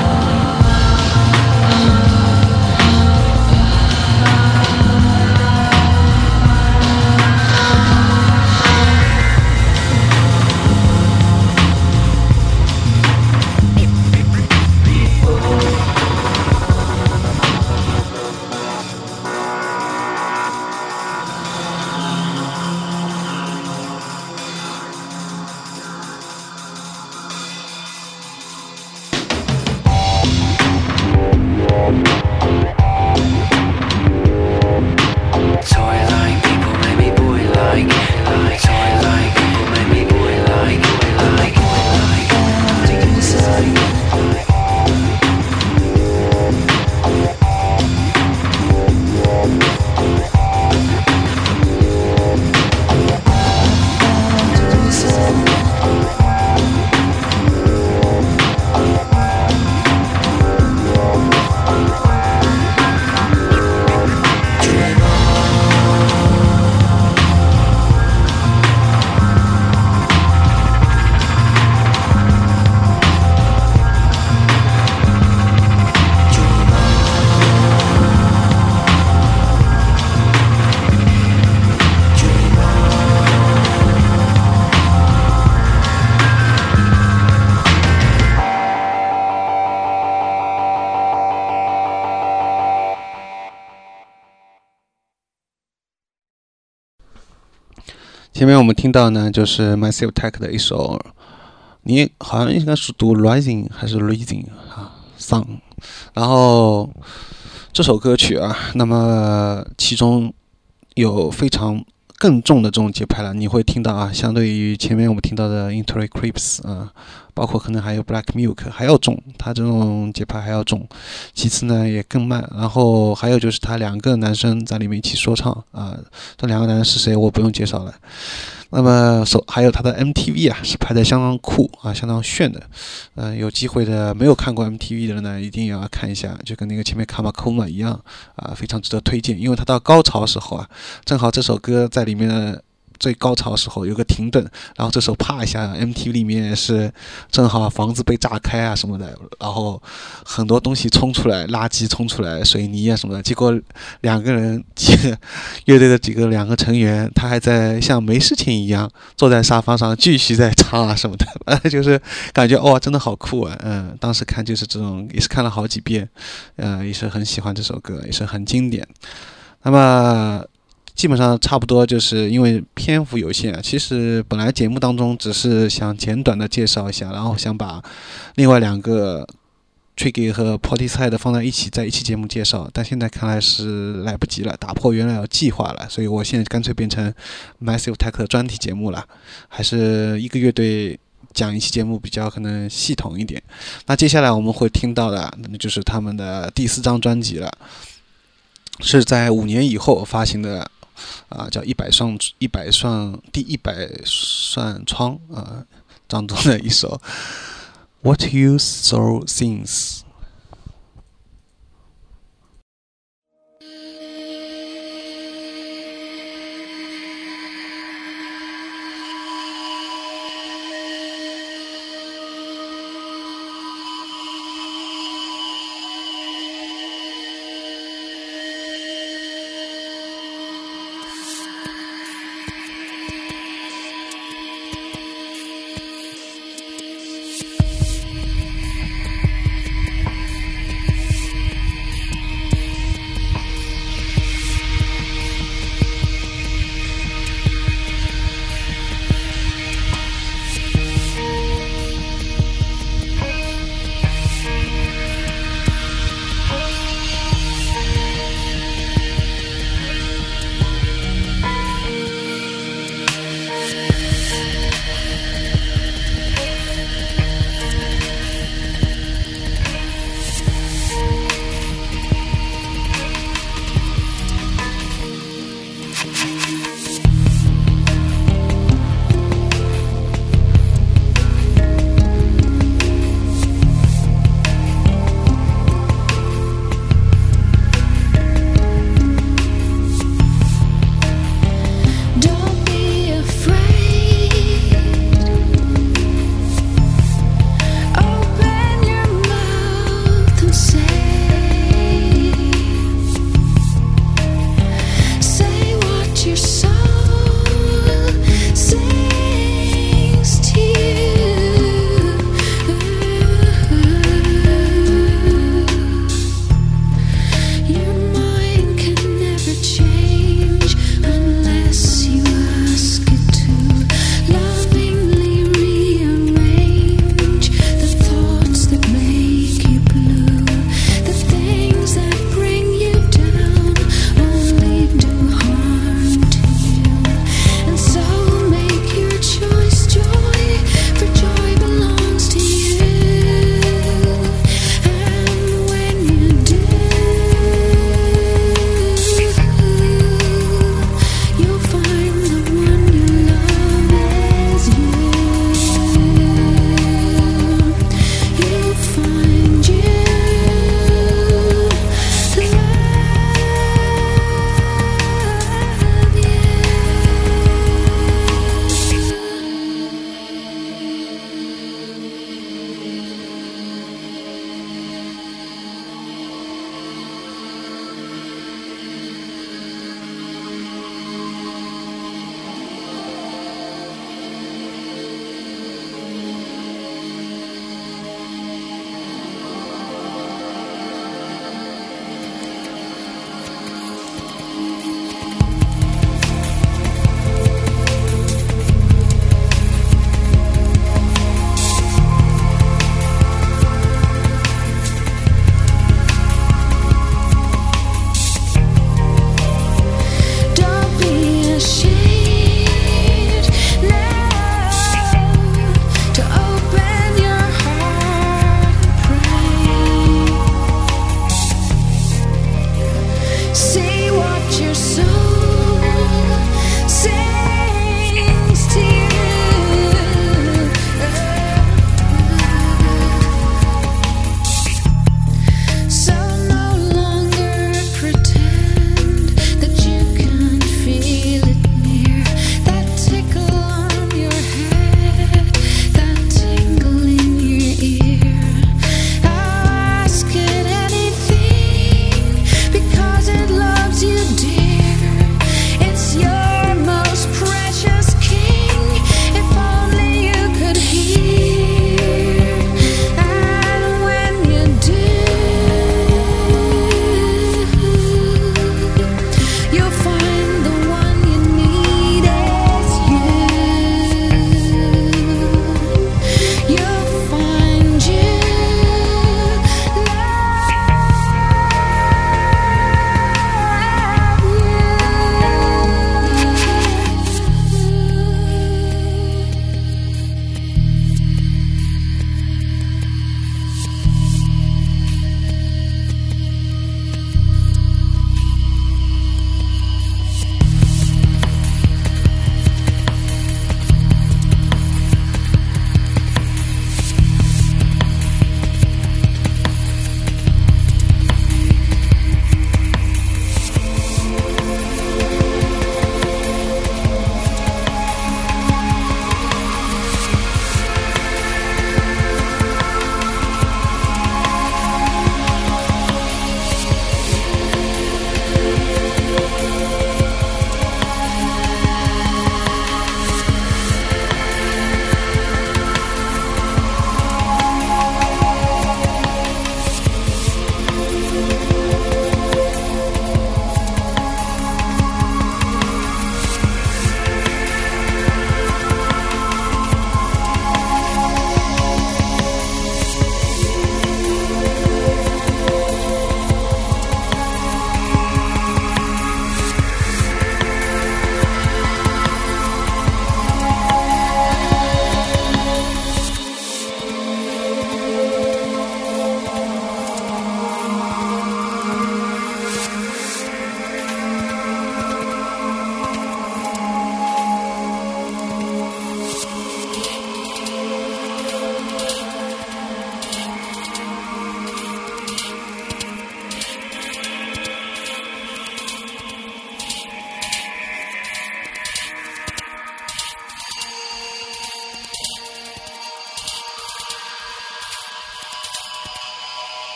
前面我们听到呢，就是 Massive Attack 的一首，你好像应该是读 Rising 还是 Rising 啊 Song， 然后这首歌曲啊，那么其中有非常更重的这种节拍了，你会听到啊，相对于前面我们听到的 Into the Creeps 啊，包括可能还有 Black Milk 还要重，它这种节拍还要重。其次呢也更慢，然后还有就是他两个男生在里面一起说唱啊，这两个男生是谁我不用介绍了。那么手还有他的 M T V 啊，是拍的相当酷啊，相当炫的。嗯、呃，有机会的没有看过 M T V 的人呢，一定要看一下，就跟那个前面卡马科马一样啊，非常值得推荐。因为他到高潮时候啊，正好这首歌在里面的最高潮时候有个停顿，然后这时候啪一下 M T V 里面是正好房子被炸开啊什么的，然后很多东西冲出来，垃圾冲出来，水泥啊什么的，结果两个人几个乐队的几个两个成员他还在像没事情一样坐在沙发上继续在唱啊什么的，就是感觉哇真的好酷啊。嗯，当时看就是这种，也是看了好几遍，呃也是很喜欢这首歌，也是很经典。那么基本上差不多，就是因为篇幅有限啊，其实本来节目当中只是想简短的介绍一下，然后想把另外两个 Tricky 和 Portishead 放在一起，在一期节目介绍，但现在看来是来不及了，打破原来的计划了，所以我现在干脆变成 Massive Attack 的专题节目了，还是一个乐队讲一期节目比较可能系统一点。那接下来我们会听到的，那就是他们的第四张专辑了，是在五年以后发行的。啊，叫一百扇一百扇第一百扇窗啊，当中的一首 What You Saw Since。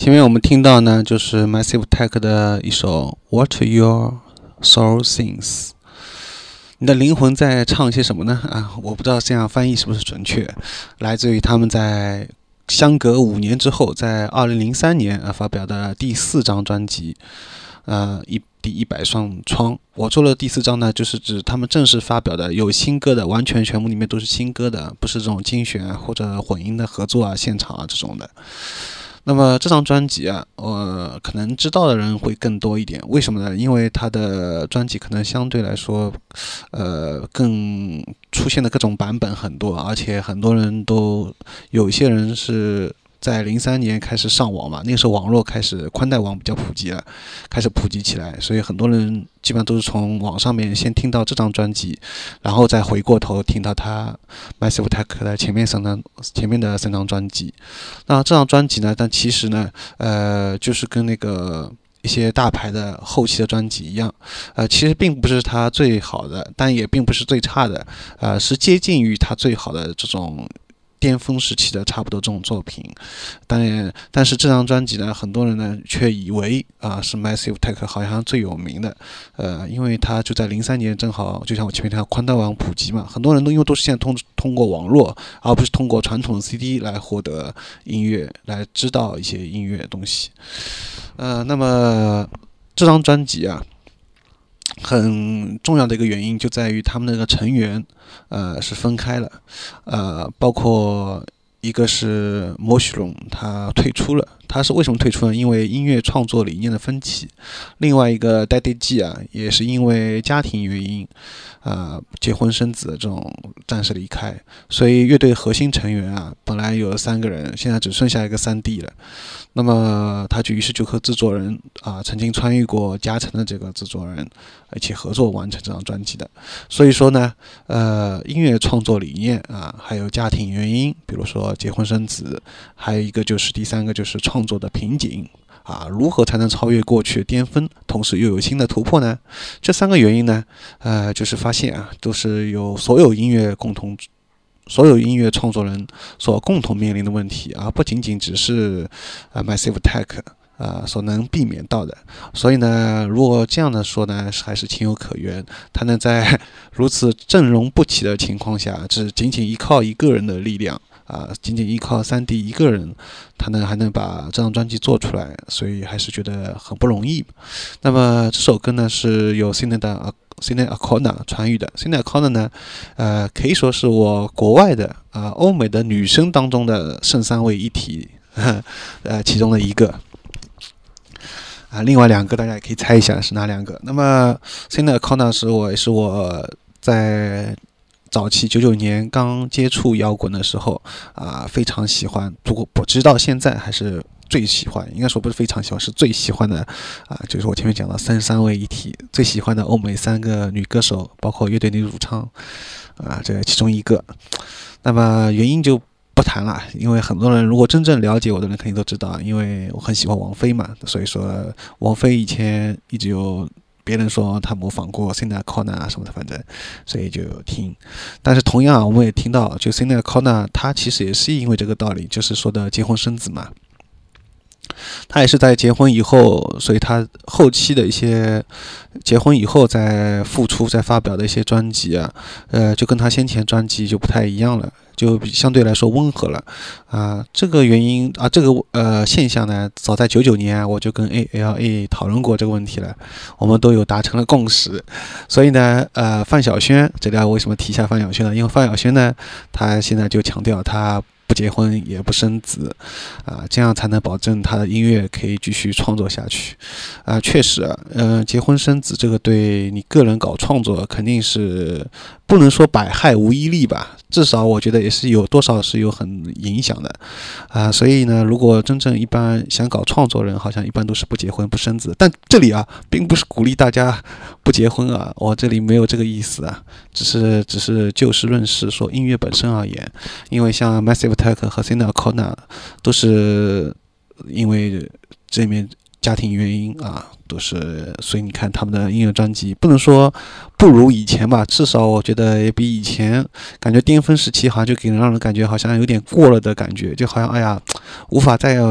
前面我们听到呢，就是 Massive Attack 的一首 What Your Soul Sings。你的灵魂在唱些什么呢？啊，我不知道这样翻译是不是准确。来自于他们在相隔五年之后，在二零零三年啊发表的第四张专辑，呃，一第一百扇窗。我做了第四张呢，就是指他们正式发表的有新歌的，完全全部里面都是新歌的，不是这种精选或者混音的合作啊、现场啊这种的。那么这张专辑啊，呃，可能知道的人会更多一点。为什么呢？因为他的专辑可能相对来说，呃，更出现的各种版本很多，而且很多人都有一些人是在零三年开始上网嘛，那个时候网络开始宽带网比较普及了，开始普及起来，所以很多人基本上都是从网上面先听到这张专辑，然后再回过头听到他 Massive Attack 的前面三张前面的三张专辑。那这张专辑呢，但其实呢，呃，就是跟那个一些大牌的后期的专辑一样，呃，其实并不是他最好的，但也并不是最差的，呃，是接近于他最好的这种巅峰时期的差不多这种作品。当然，但是这张专辑呢，很多人呢却以为啊、呃、是 Massive Attack 好像最有名的，呃，因为它就在零三年正好就像我前面提到宽带网普及嘛，很多人都因为都是现在通通过网络，而不是通过传统的 C D 来获得音乐，来知道一些音乐的东西。呃，那么这张专辑啊，很重要的一个原因就在于他们那个成员，呃，是分开了，呃，包括一个是摩许龙，他退出了。他是为什么退出呢？因为音乐创作理念的分歧。另外一个 Daddy G 啊，也是因为家庭原因，啊、呃，结婚生子的这种暂时离开。所以乐队核心成员啊，本来有三个人，现在只剩下一个三弟了。那么他就于是就和制作人啊，曾经参与过加成的这个制作人一起合作完成这张专辑的。所以说呢，呃，音乐创作理念啊，还有家庭原因，比如说结婚生子，还有一个就是第三个就是创作的瓶颈啊，如何才能超越过去的巅峰，同时又有新的突破呢？这三个原因呢，呃，就是发现啊，都是有所有音乐共同。所有音乐创作人所共同面临的问题，而不仅仅只是呃 Massive Attack 呃所能避免到的。所以呢，如果这样的说呢，还是情有可原。他能在如此阵容不齐的情况下，只仅仅依靠一个人的力量啊、呃，仅仅依靠三弟一个人，他呢还能把这张专辑做出来，所以还是觉得很不容易。那么这首歌呢，是由 Sinéad 的Sinéad O'Connor 传译的。Sinéad O'Connor 呢，呃，可以说是我国外的啊、呃、欧美的女生当中的圣三位一体，呵呃，其中的一个。啊、呃，另外两个大家也可以猜一下是哪两个。那么 Sinéad O'Connor 是我也是我在早期九九年刚接触摇滚的时候啊、呃，非常喜欢，不过我直到现在还是最喜欢，应该说不是非常喜欢，是最喜欢的啊、呃，就是我前面讲的三三位一体，最喜欢的欧美三个女歌手，包括乐队女主唱啊、呃，这其中一个。那么原因就不谈了，因为很多人如果真正了解我的人肯定都知道，因为我很喜欢王菲嘛，所以说王菲以前一直有别人说他模仿过 Sinéad O'Connor 啊什么的，反正所以就有听。但是同样啊，我们也听到，就 Sinéad O'Connor 他其实也是因为这个道理，就是说的结婚生子嘛。他也是在结婚以后，所以他后期的一些结婚以后再复出、再发表的一些专辑啊，呃，就跟他先前专辑就不太一样了，就相对来说温和了啊、呃。这个原因啊，这个呃现象呢，早在九九年、啊、我就跟 A L A 讨论过这个问题了，我们都有达成了共识。所以呢，呃，范晓萱，这里为什么提一下范晓萱呢？因为范晓萱呢，她现在就强调她不结婚也不生子，啊，这样才能保证他的音乐可以继续创作下去。啊，确实啊，呃，结婚生子这个对你个人搞创作肯定是不能说百害无一利吧，至少我觉得也是有多少是有很影响的。啊，所以呢，如果真正一般想搞创作人，好像一般都是不结婚不生子。但这里啊，并不是鼓励大家不结婚啊，我这里没有这个意思啊，只是只是就事论事，说音乐本身而言，因为像 Massive Attack 和 Sinéad O'Connor 都是因为这面家庭原因啊，都是，所以你看他们的音乐专辑不能说不如以前吧，至少我觉得也比以前感觉巅峰时期好像就给人让人感觉好像有点过了的感觉，就好像哎呀无法再不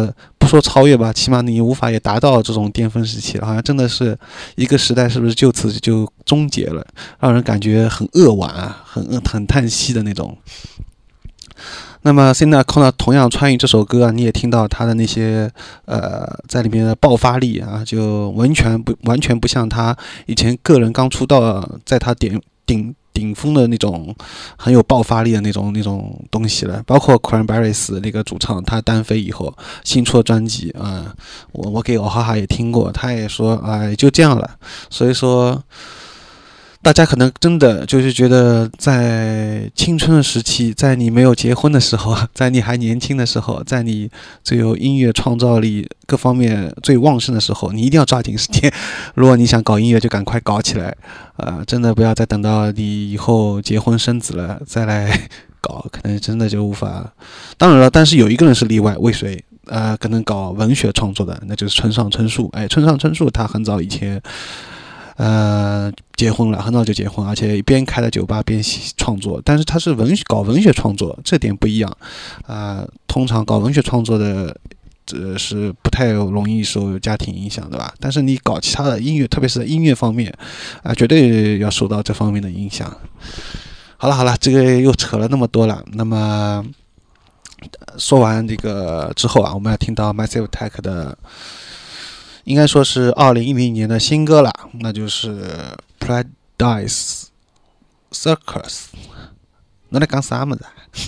说超越吧，起码你无法也达到这种巅峰时期了，好像真的是一个时代是不是就此就终结了，让人感觉很扼腕啊，很很叹息的那种。那么现在看到同样穿越这首歌啊，你也听到他的那些呃在里面的爆发力啊，就完全不完全不像他以前个人刚出道，在他顶顶顶峰的那种很有爆发力的那种那种东西了。包括 Cranberries 那个主唱，他单飞以后新出的专辑啊、呃，我我给欧哈哈也听过，他也说哎、呃、就这样了。所以说。大家可能真的就是觉得，在青春的时期，在你没有结婚的时候，在你还年轻的时候，在你最有音乐创造力各方面最旺盛的时候，你一定要抓紧时间。如果你想搞音乐，就赶快搞起来，呃，真的不要再等到你以后结婚生子了再来搞，可能真的就无法。当然了，但是有一个人是例外，为谁？呃，可能搞文学创作的，那就是村上春树。哎，村上春树他很早以前。呃，结婚了，很早就结婚，而且边开了酒吧边创作。但是他是文学搞文学创作，这点不一样。啊、呃，通常搞文学创作的，这是不太容易受家庭影响，对吧？但是你搞其他的音乐，特别是在音乐方面，啊、呃，绝对要受到这方面的影响。好了好了，这个又扯了那么多了。那么说完这个之后啊，我们要听到 Massive Attack 的。应该说是二零一零年的新歌了，那就是 Paradise Circus。侬在讲啥么子？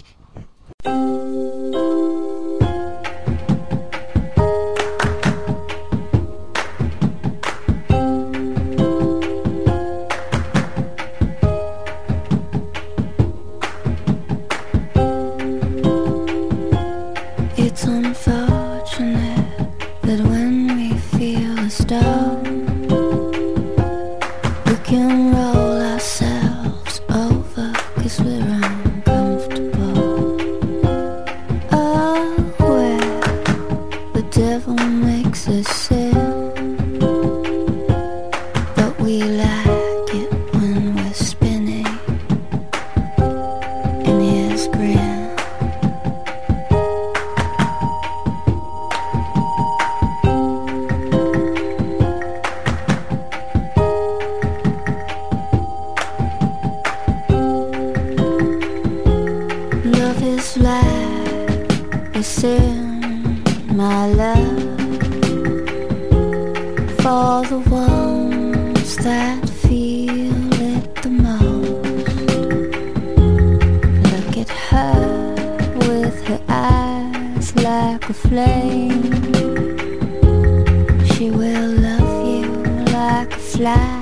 It's unfortunate that when we feel down, we can roll ourselves over 'cause we're uncomfortable. Oh, where the devil makes us sin, but we like it when we're spinning in his grin. In my love for the ones that feel it the most. Look at her with her eyes like a flame. She will love you like a fly.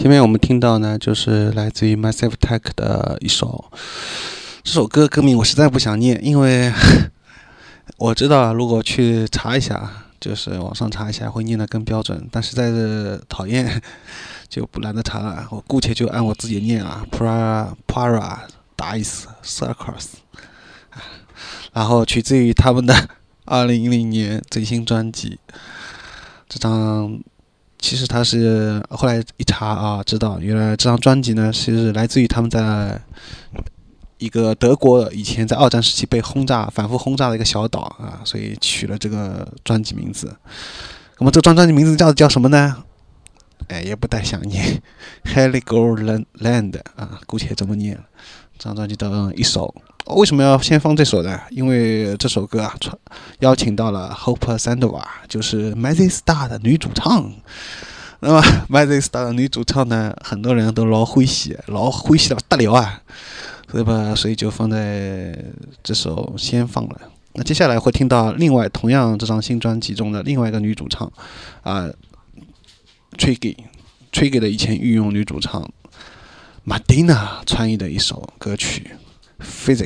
前面我们听到呢，就是来自于 Massive Attack 的一首，这首歌歌名我实在不想念，因为我知道如果去查一下，就是网上查一下会念得更标准，但实在是讨厌，就不懒得查了。我姑且就按我自己念啊 ，Para Para Dice Circus， 然后取自于他们的二零一零年最新专辑。这张其实他是后来一查啊，知道原来这张专辑呢，其实来自于他们在一个德国以前在二战时期被轰炸、反复轰炸的一个小岛啊，所以取了这个专辑名字。那么这张专辑名字叫叫什么呢？哎，也不太想念 ，Heligoland 啊，姑且这么念了。这张专辑的一首，为什么要先放这首呢？因为这首歌啊，邀请到了 Hope Sandova， 就是 Mazzy Star 的女主唱。那么 Mazzy Star 的女主唱呢，很多人都老欢喜，老欢喜了得了啊，所以吧，所以就放在这首先放了。那接下来会听到另外同样这张新专辑中的另外一个女主唱啊、呃、，Triggy Triggy 的以前御用女主唱 Madina 穿译的一首歌曲 Physic。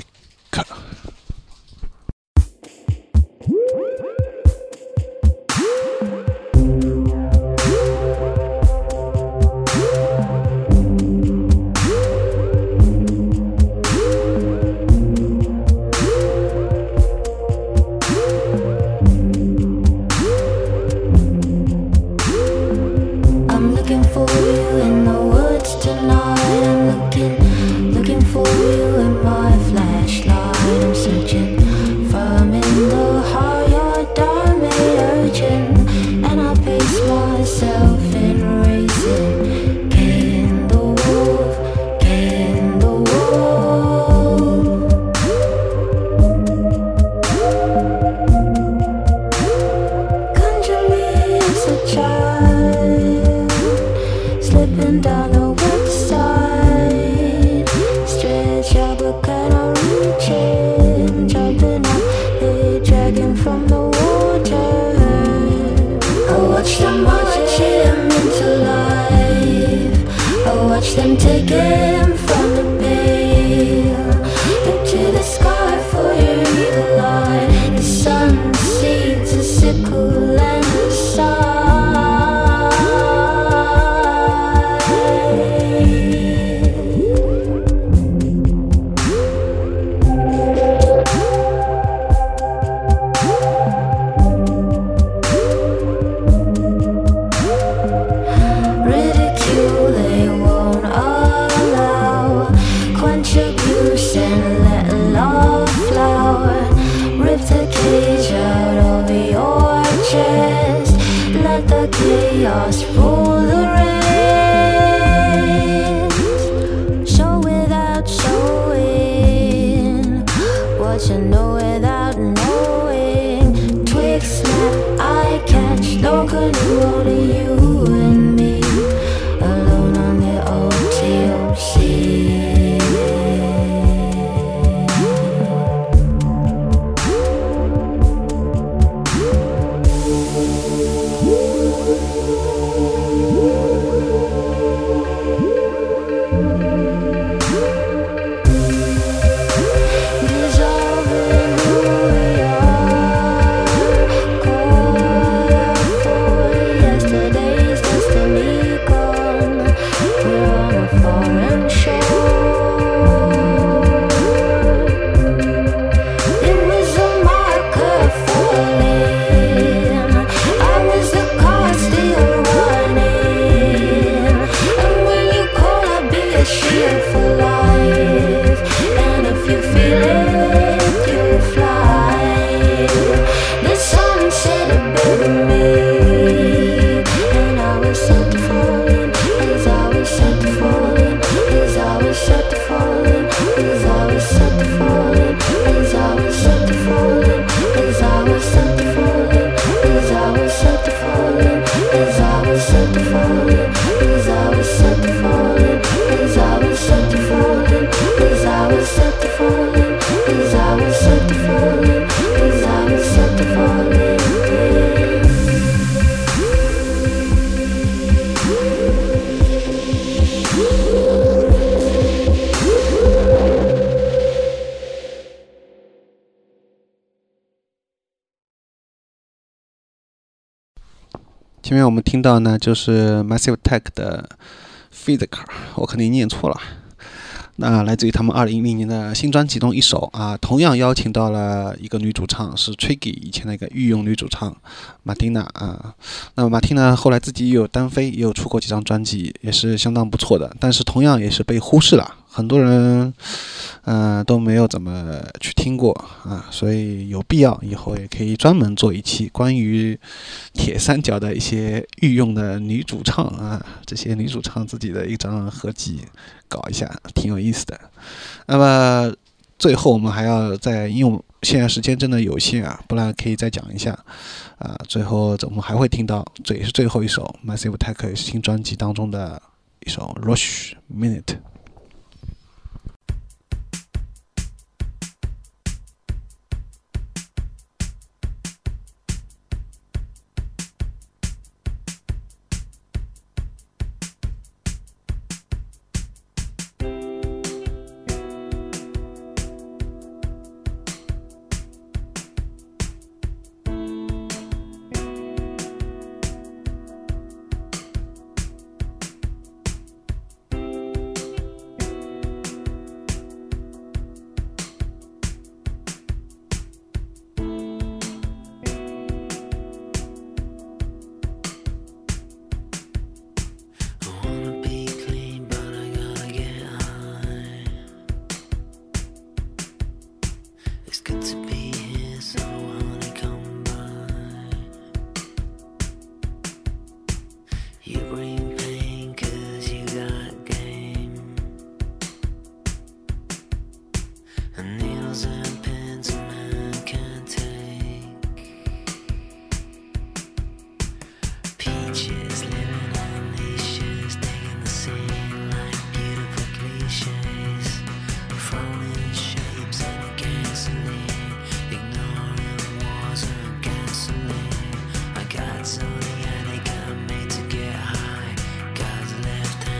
前面我们听到呢，就是 Massive Attack 的 Physical， 我肯定念错了。那来自于他们二零一零年的新专辑中一首啊，同样邀请到了一个女主唱，是 Triggy 以前的一个御用女主唱马蒂娜啊。那么马蒂娜后来自己也有单飞，也有出过几张专辑，也是相当不错的，但是同样也是被忽视了，很多人呃都没有怎么去听过啊，所以有必要以后也可以专门做一期关于铁三角的一些御用的女主唱啊，这些女主唱自己的一张合集搞一下，挺有意思的。那么最后我们还要再，因为现在时间真的有限啊，不然可以再讲一下啊。最后我们还会听到，这也是最后一首 Massive Attack 新专辑当中的一首 Rush Minute。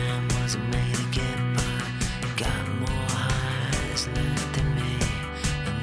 Left in me,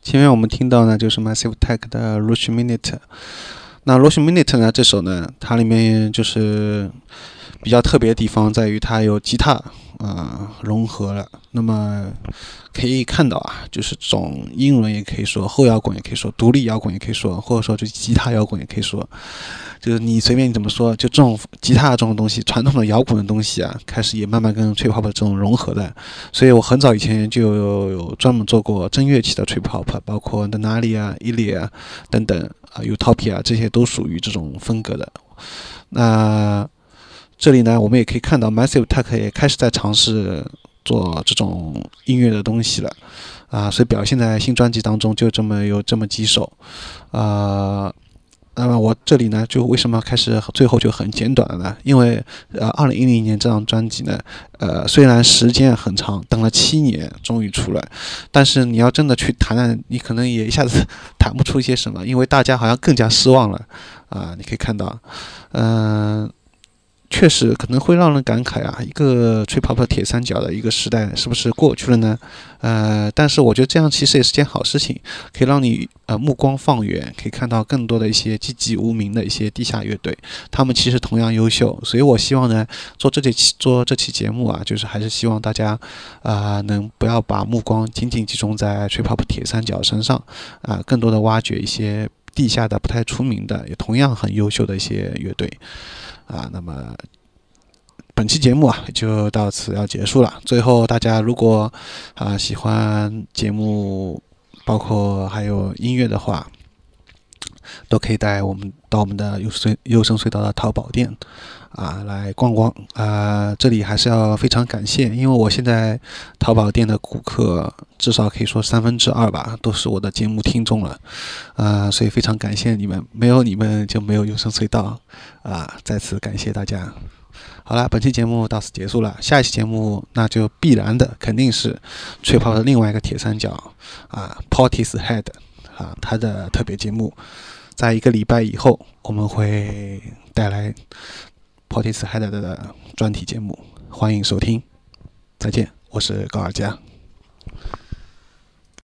前面我们听到呢，就是 Massive Attack 的 Rush Minute。那 Rush Minute 呢，这首呢，它里面就是比较特别的地方在于它有吉他啊、呃、融合了。那么可以看到啊，就是这种英伦也可以说，后摇滚也可以说，独立摇滚也可以说，或者说就吉他摇滚也可以说，就是你随便你怎么说，就这种吉他这种东西，传统的摇滚的东西啊，开始也慢慢跟 trip hop 这种融合的。所以我很早以前就有有专门做过真乐器的 trip hop， 包括 Denali 啊、Ilya 啊等等啊 Utopia 这些都属于这种风格的。那这里呢，我们也可以看到 Massive Attack 也开始在尝试做这种音乐的东西了啊，所以表现在新专辑当中就这么有这么几首啊。那么我这里呢，就为什么开始最后就很简短了呢？因为呃，二零一零年这张专辑呢，呃，虽然时间很长，等了七年终于出来，但是你要真的去谈谈，你可能也一下子谈不出一些什么，因为大家好像更加失望了啊。你可以看到，嗯、呃。确实可能会让人感慨啊，一个trip hop铁三角的一个时代是不是过去了呢？呃，但是我觉得这样其实也是件好事情，可以让你呃目光放远，可以看到更多的一些籍籍无名的一些地下乐队，他们其实同样优秀。所以我希望呢，做这期做这期节目啊，就是还是希望大家啊、呃、能不要把目光仅仅集中在trip hop铁三角身上啊、呃，更多的挖掘一些地下的不太出名的，也同样很优秀的一些乐队。啊，那么本期节目啊就到此要结束了。最后，大家如果啊喜欢节目，包括还有音乐的话，都可以带我们到我们的优声优声隧道的淘宝店啊来逛逛啊。这里还是要非常感谢，因为我现在淘宝店的顾客至少可以说三分之二吧，都是我的节目听众了啊，所以非常感谢你们，没有你们就没有优声隧道啊，再次感谢大家。好了，本期节目到此结束了。下一期节目那就必然的肯定是吹泡的另外一个铁三角啊 ，Portishead 啊，他的特别节目，在一个礼拜以后我们会带来 Portishead 的专题节目，欢迎收听。再见，我是高尔佳。